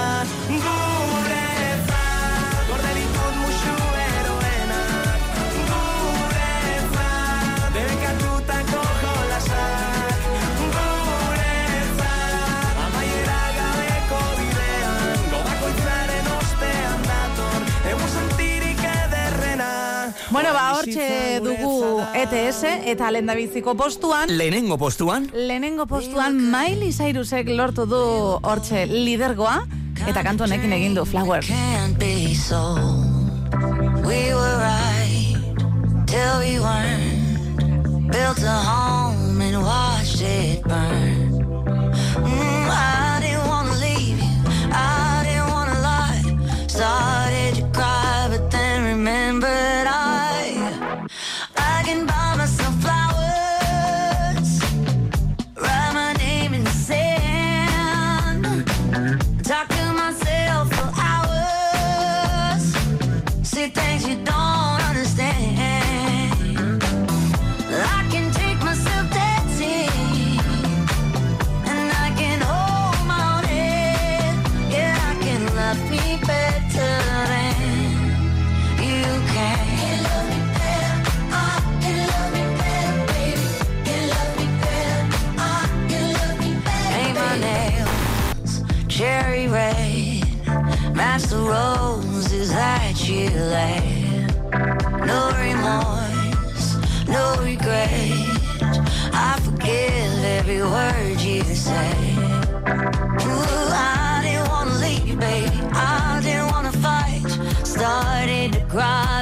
Guretzat, gorde ditut musu eroenak. Guretzat, debekatutako jolasak. Guretzat, amaiera gabeko bidean, gau bakoitzaren ostean dator, egun sentirik ederrena. Bueno, hortxe dugu ETS eta lehendabiziko postuan. Lehenengo postuan Miley Cyrusek lortu du hortxe lidergoa eta kantu honekin egin du Flower. We were right till we weren't. Built a home and watched it burn. I didn't want to leave you, I didn't want to lie. Started to cry but then remembered I can buy myself flowers, write my name in the sand, talk to myself for hours, say things you don't understand. I can take myself dancing, and I can hold my own head. Yeah, I can love me better than you can. Cherry red, match the roses that you laid. No remorse, no regret. I forgive every word you say. Ooh, I didn't want to leave, baby. I didn't want to fight.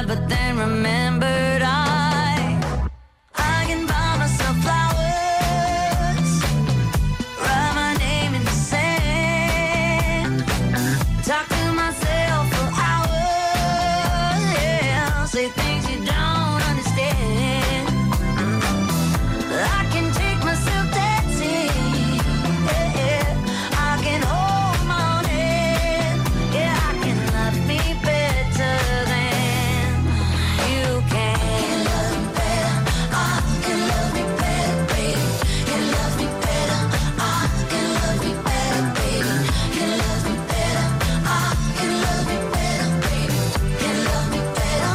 cried, but then remembered I can buy myself flowers, write my name in the sand, talk to myself for hours, yeah, say things you don't understand. I can take myself dancing, yeah, I can hold my own hand, yeah, I can love me better than you can. Can love me better, I can love me better, baby. Can love me better, I can love me better, baby. Can love me better, I can love me better, baby. Can love me better,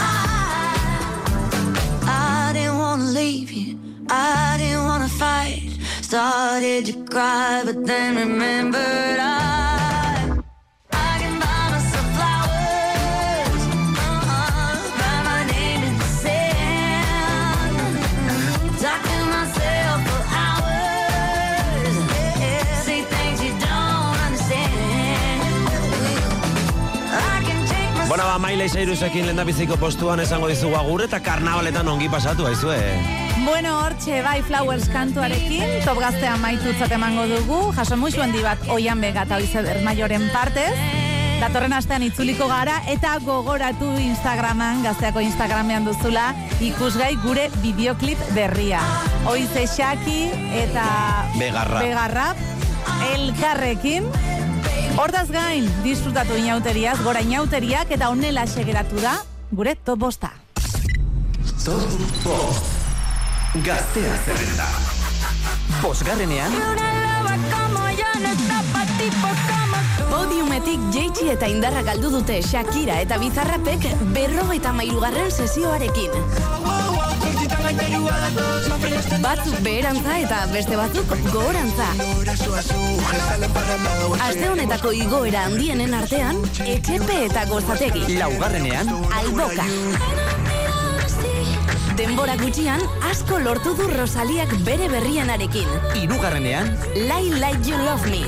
I didn't wanna leave you, I didn't wanna fight. Started to cry, but then remembered I can buy myself flowers, write my name in the sand, talk to myself for hours, yeah, say things you don't understand. I can take myself. Bueno, Miley Cyrusekin lehendabiziko postuan esango dizugu agur eta karnabaletan ongi pasatu aizue. Bueno, hortxe bai Flowers kantuarekin, Top Gaztea maitutzat emango dugu, jaso musu handi bat Oian Bega eta Oizer Maioren partez, datorren astean itzuliko gara, eta gogoratu Instagraman, Gazteako Instagramean duzula, ikusgai gure bideoklip berria. Oize Xaki eta Begarrap, elkarrekin, hortaz gain, disfrutatu inauteriaz, gora inauteriak, eta honela segeratu da, gure top bosta. Top Bost. Gaztea zerrenda. Bosgarrenean Podiumetik jeitsi eta indarra galdu dute Shakira eta Bizarrapek 53. sesioarekin. Batzuk beherantza eta beste batzuk gogorantza. Aste honetako igoera handienen artean, Etxepe eta Gozategi. Laugarrenean Alboka. Denbora gutxian, asko lortu du Rosaliak bere berrianarekin. Hirugarrenean Lie Like You Love Me.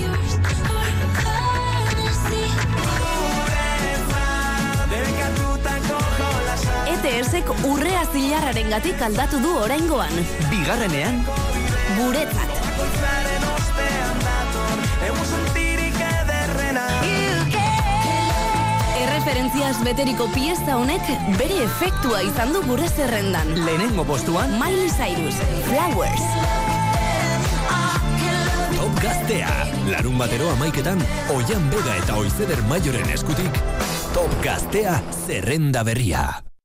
ETS-ek urrea zilarraren gatik aldatu du oraingoan. Bigarrenean Guretzat. Erreferentziaz beteriko pieza honek bere efektua izan du gure zerrendan. lehenengo postuan Miley Cyrus, Flowers. Top Gaztea. Larun batero 11:00 Oian Bega eta Oizer Maioren eskutik. Top Gaztea zerrenda berria.